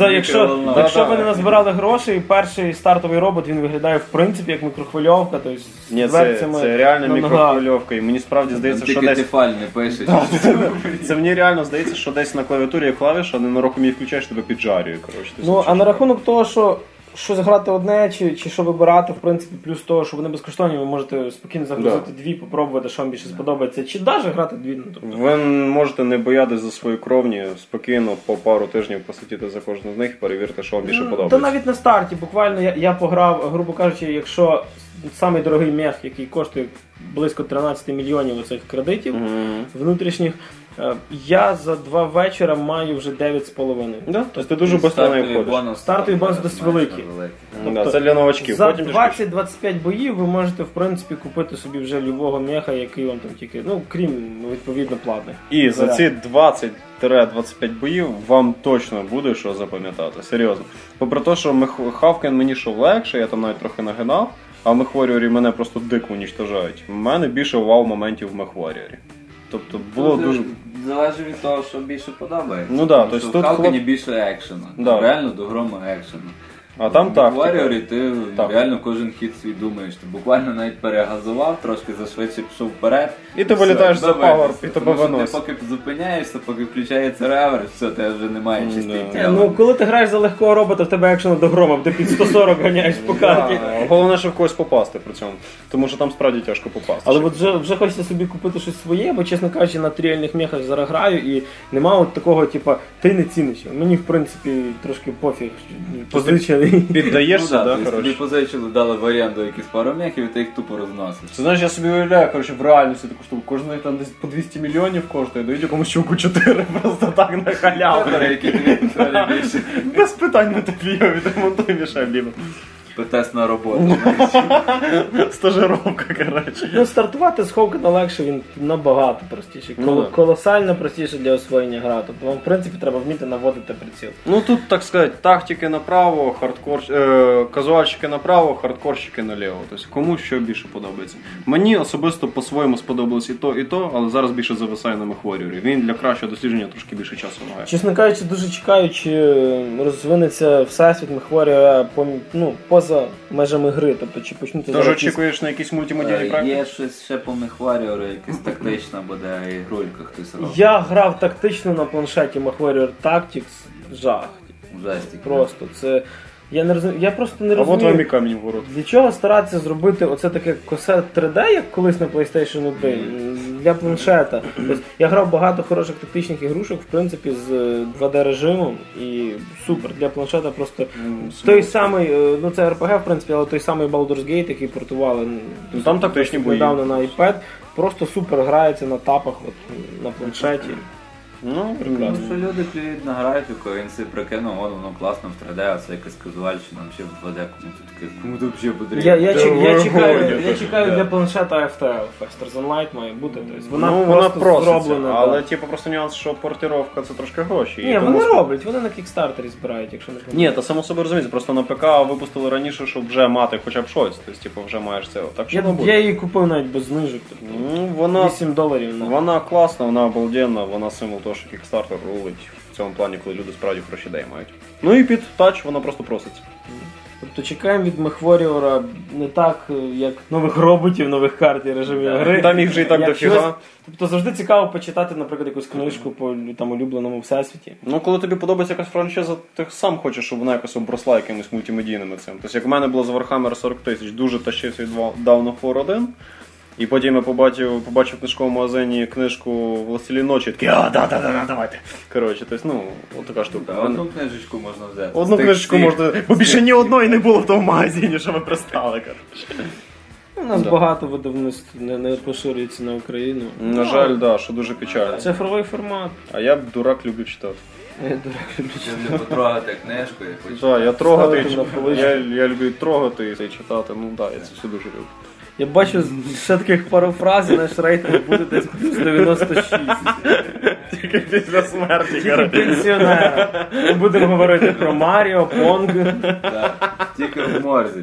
Speaker 1: якщо ви не назбирали грошей, перший стартовий робот, він виглядає в принципі як мікрохвильовка.
Speaker 2: Ні, це реально мікрохвильовка, і мені справді здається, що десь...
Speaker 3: Тефаль не пишеш.
Speaker 2: Це мені реально здається, що десь на клавіатурі є клавіша, а ненароком її включаєш, тебе піджарює.
Speaker 1: А на рахунок того, що щось грати одне, чи що вибирати, в принципі, плюс того, що вони безкоштовні, ви можете спокійно загрузити 2, попробувати, що вам більше сподобається, чи навіть грати 2.
Speaker 2: Ви можете не боятися за свої кровні, спокійно по пару тижнів посидіти за кожну з них і перевірити, що вам більше подобається.
Speaker 1: Та навіть на старті, буквально я пограв, грубо кажучи, якщо самий дорогий мех, який коштує близько 13 мільйонів оцих кредитів внутрішніх, я за 2 вечора маю вже 9,5.
Speaker 2: Да? Тобто ти дуже швидко не входиш.
Speaker 1: Стартовий бонус досить великий.
Speaker 2: Тобто, це для новачків.
Speaker 1: За 20-25 боїв ви можете, в принципі, купити собі вже любого меха, який вам там тільки, крім, відповідно, платних.
Speaker 2: І за ці 20-25 боїв вам точно буде що запам'ятати. Серйозно. Попри те, що Хавкен мені йшов легше, я там навіть трохи нагинав, а в Мехваріорі мене просто дико уничтожають. У мене більше вау-моментів в Мехваріорі. Тобто було дуже...
Speaker 3: Залежить від того, що більше подобається.
Speaker 2: Тобто
Speaker 3: в Хавкені більше екшену. Реально до грому екшену.
Speaker 2: А там так.
Speaker 3: В Warrior ти реально кожен хід свій думаєш. Ти буквально навіть перегазував, трошки зашвидше пішов вперед.
Speaker 2: І ти вилітаєш за павер, і тебе виносить.
Speaker 3: Ти поки зупиняєшся, поки включається реверс, все, тебе вже немає чистої тіла.
Speaker 1: Коли ти граєш за легкого робота, в тебе екшену до грома, ти під 140 ганяєш по карті.
Speaker 2: Головне, що в когось попасти при цьому. Тому що там справді тяжко попасти.
Speaker 1: Але от вже хочеться собі купити щось своє, бо, чесно кажучи, на тріальних мехах зараз граю, і нема от такого, ти не ціниш. Мені, в принципі, трошки пофіг. Позичений.
Speaker 2: Піддаєшся,
Speaker 3: так? Тобі позичили, дали в оренду якісь пару мехів, і ти їх тупо розносиш.
Speaker 2: Ти знаєш, я собі уявляю, в реальності таку штуку. Кожен там десь по 200 мільйонів коштує, дають якомусь чуваку 4 просто так на халяву. Без питань на тобі його відремонтуй, Міша, блін.
Speaker 3: Тест на роботу.
Speaker 2: Стажировка, коротше.
Speaker 1: Стартувати з Хавкена легше, він набагато простіше. Колосально простіше для освоєння гри. Тобто вам, в принципі, треба вміти наводити приціл.
Speaker 2: Тут, так сказати, тактики направо, казуальщики направо, хардкорщики наліво. Тобто кому що більше подобається. Мені особисто по-своєму сподобалось і то, але зараз більше зависаю на Мехваріорі. Він для кращого дослідження трошки більше часу має.
Speaker 1: Чесно кажучи, дуже чекаю, чи розвинеться всесвіт Мехваріора поза межами гри, тобто чи почнути...
Speaker 2: Тож очікуєш на якісь мультимедійні проекти?
Speaker 3: Є щось ще по Мехваріору, якась тактична буде ігрулька хтось робить.
Speaker 1: Я грав тактично на планшеті Mechwarrior Tactics, жах.
Speaker 3: Жестик.
Speaker 1: Просто це... Я просто не розумію.
Speaker 2: А от вам і камінь в ворот.
Speaker 1: Для чого старатися зробити оце таке косе 3D, як колись на PlayStation 1? для планшета. Тобто, я грав багато хороших тактичних ігрушок, в принципі, з 2D-режимом, і супер, для планшета просто той самий, ну це RPG, в принципі, але той самий Baldur's Gate, який портували
Speaker 2: там тактичні бої
Speaker 1: недавно на iPad, просто супер грається на тапах, от, на планшеті.
Speaker 2: Ну, прекрасно.
Speaker 3: Що люди клюють на графіку, він собі прикинув, воно класно в 3D, а це якась казуальщина, ще в 2D, кому тут взагалі потрібно.
Speaker 1: Я чекаю для планшета FTL, Faster Than Light має бути, тобто
Speaker 2: вона
Speaker 1: просто зроблена.
Speaker 2: Але типу просто нюанс, що портировка це трошки гроші.
Speaker 1: Ні, вони роблять, вони на Kickstarter збирають, якщо не помиляюсь.
Speaker 2: Ні, та само собі розуміється, просто на ПК випустили раніше, щоб вже мати хоча б щось, тобто типу вже маєш це. Так що
Speaker 1: я її купив навіть без знижок, тобто $8.
Speaker 2: Вона класна, вона обалденна, вона символ того, що Kickstarter рулить в цьому плані, коли люди справді хороші ідеї мають. Ну і під тач вона просто проситься.
Speaker 1: Тобто чекаємо від MechWarrior не так, як нових роботів, нових карт і режимів гри.
Speaker 2: Там їх вже і так дофіга.
Speaker 1: Тобто завжди цікаво почитати, наприклад, якусь книжку по там улюбленому всесвіті.
Speaker 2: Ну, коли тобі подобається якась франшиза, ти сам хочеш, щоб вона якось обросла якимось мультимедійними цим. Тобто, як в мене було з Warhammer 40 000, дуже тащився від Dawn of War 1. І потім я побачив в книжковому магазині книжку «Властелін ночі», такий, давайте. Коротше, тобто, ну, от така штука.
Speaker 3: Одну книжечку можна взяти.
Speaker 2: Одну книжечку можна, бо більше ні одної не було в тому магазині, що ми пристали, коротше.
Speaker 1: У нас багато видавництв не поширюється на Україну.
Speaker 2: На жаль, да, що дуже печально.
Speaker 1: Цифровий формат.
Speaker 2: А я дурак люблю читати.
Speaker 1: Я дурак люблю читати.
Speaker 3: Люблю потрогати книжку і хочу.
Speaker 2: Так, я трогати, я люблю трогати і читати, ну так, я це все дуже люблю.
Speaker 1: Я бачу ще таких пару фраз, і наш рейтинг буде десь плюс 96.
Speaker 2: Тільки після смерті.
Speaker 1: Тільки пенсіонера. Ми будемо говорити про Маріо, Понг.
Speaker 3: Тільки в морзі.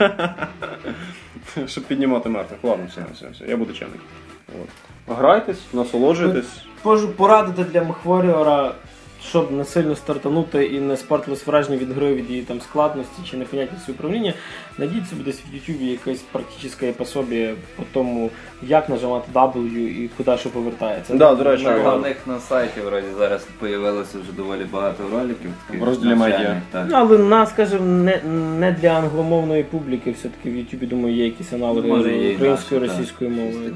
Speaker 2: Щоб піднімати мертвих. Ладно, все. Я буду чемний. Грайтесь, насолоджуйтесь.
Speaker 1: Можу порадити для MechWarrior, щоб не сильно стартанути і не спортилось враження від гри, від її там складності чи непонятності управління, найдіть собі десь в YouTube якесь практичне пособие по тому, як нажимати W і куди що повертається.
Speaker 2: Да, до речі,
Speaker 3: у них на сайті вроді зараз появилося вже доволі багато роликів.
Speaker 2: В розділі медіа.
Speaker 1: Але скажімо, не для англомовної публіки, все-таки в YouTube, думаю, є якісь аналоги української, російської мови.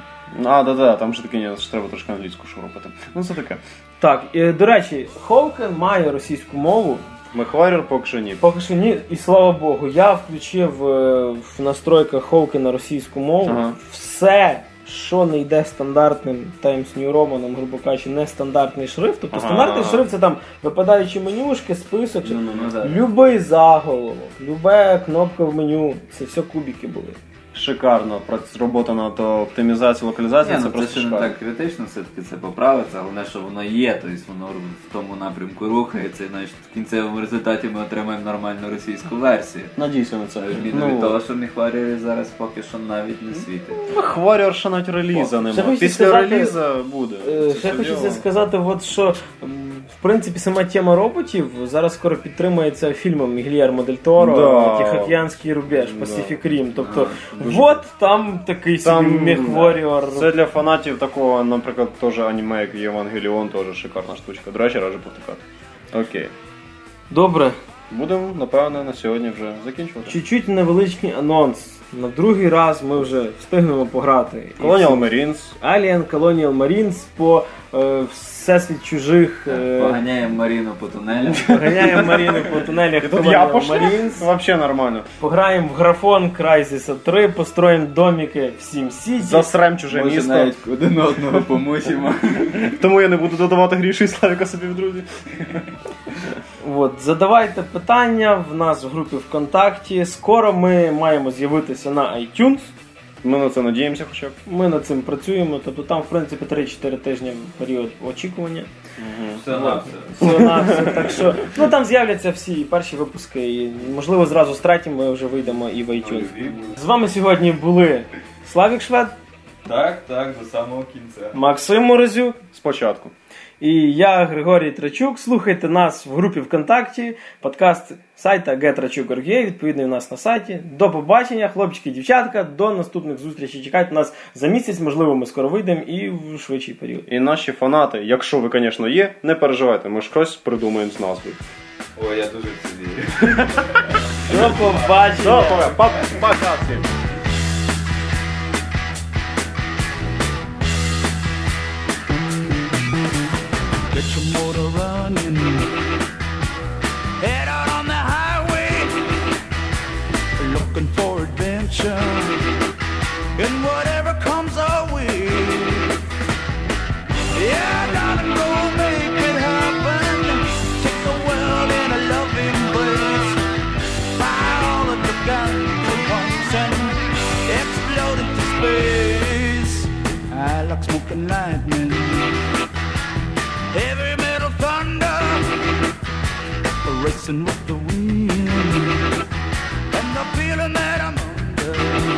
Speaker 2: Да, там же таки треба трошки англійську шурупати. Ну це таке.
Speaker 1: Так, до речі, Ховкен має російську мову.
Speaker 2: MechWarrior поки що ні.
Speaker 1: Поки що ні, і слава Богу. Я включив в настройках Ховкена російську мову. Ага. Все, що не йде стандартним Times New Roman, грубо кажучи, нестандартний шрифт. Тобто стандартний шрифт це там випадаючі менюшки, список, любий заголовок, люба кнопка в меню, це все кубики були.
Speaker 2: Шикарно. Робота над оптимізацією, локалізацією, це просто шикарно.
Speaker 3: Це не так критично, все-таки це поправиться, головне, що воно є, тобто воно в тому напрямку рухається, і навіть в кінцевому результаті ми отримаємо нормальну російську версію.
Speaker 2: Надійся на це.
Speaker 3: Відміну від того, що MechWarrior зараз поки що навіть не світить.
Speaker 2: MechWarrior ще навіть реліза немає. Після реліза буде.
Speaker 1: Ще хочеться сказати, що в принципі сама тема роботів зараз скоро підтримується фільмом Гільєрмо Дель Торо, Тихоокеанський рубеж, Pacific Rim. Тобто, от там такий собі MechWarrior.
Speaker 2: Це для фанатів такого, наприклад, теж аніме, як Євангеліон, теж шикарна штучка. До речі, раджу повтикати. Окей.
Speaker 1: Добре.
Speaker 2: Будемо, напевно, на сьогодні вже закінчувати.
Speaker 1: Чуть-чуть невеличкий анонс. На другий раз ми вже встигнемо пограти.
Speaker 2: Colonial Marines.
Speaker 1: Alien Colonial Marines по всесвіт чужих.
Speaker 3: Поганяємо Маріну по тунелях.
Speaker 1: Поганяємо Маріну по тунелях.
Speaker 2: І тут я пошлю? Вообще нормально.
Speaker 1: Пограємо в графон Crysis 3, построїмо домики в Сім-Сіті.
Speaker 2: Засрем чуже місто.
Speaker 3: Може навіть один одного помучимо.
Speaker 2: Тому я не буду додавати Грішу і Славіка собі в друзі.
Speaker 1: От, задавайте питання в нас в групі ВКонтакті. Скоро ми маємо з'явитися на iTunes.
Speaker 2: Ми на це надіємося хоча б.
Speaker 1: Ми над цим працюємо. Тобто там, в принципі, 3-4 тижні період очікування. Все. Так що, там з'являться всі перші випуски. І, можливо, зразу з третім ми вже вийдемо і в iTunes. З вами сьогодні були Славік Швед.
Speaker 3: Так, до самого кінця.
Speaker 1: Максим Морозюк.
Speaker 2: Спочатку.
Speaker 1: І я, Григорій Трачук. Слухайте нас в групі ВКонтакті, подкаст сайта GetRachuk.org, відповідно у нас на сайті. До побачення, хлопчики і дівчатка, до наступних зустрічей. Чекайте нас за місяць, можливо, ми скоро вийдемо і в швидший період.
Speaker 2: І наші фанати, якщо ви, звісно, є, не переживайте, ми ж щось придумаємо з назвою.
Speaker 3: Ой, я дуже в це вірю.
Speaker 1: До побачення.
Speaker 2: Пока всім.
Speaker 4: Get your motor running. Head out on the highway, looking for adventure. And whatever comes our way, yeah, gotta go make it happen. Take the world in a loving embrace. Buy all of the guns and pumps and explode into space. I like smoking lightning, heavy metal thunder, racing with the wind, and the feeling that I'm under.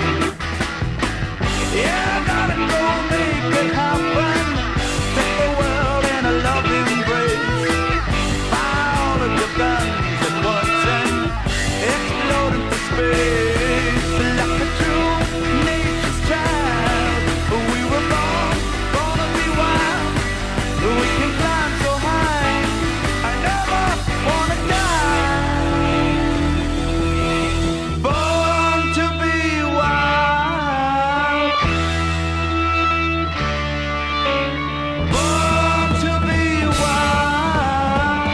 Speaker 4: Yeah, I gotta go make it happen. Take the world in a loving embrace. Buy all of your guns at once and explode into space. Like a true nature's child, we were born, gonna be wild. We can climb so high, I never wanna die. Born to be wild. Born to be wild.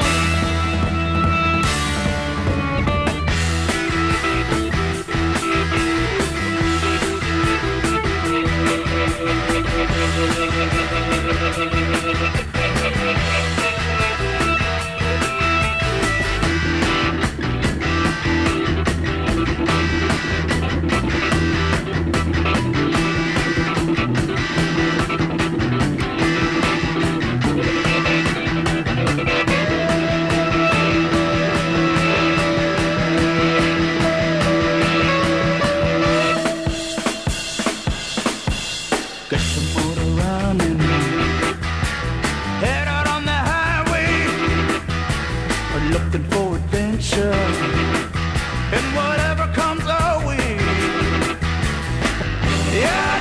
Speaker 4: Get your motor running. Head out on the highway, looking for adventure. And whatever comes our way, yeah.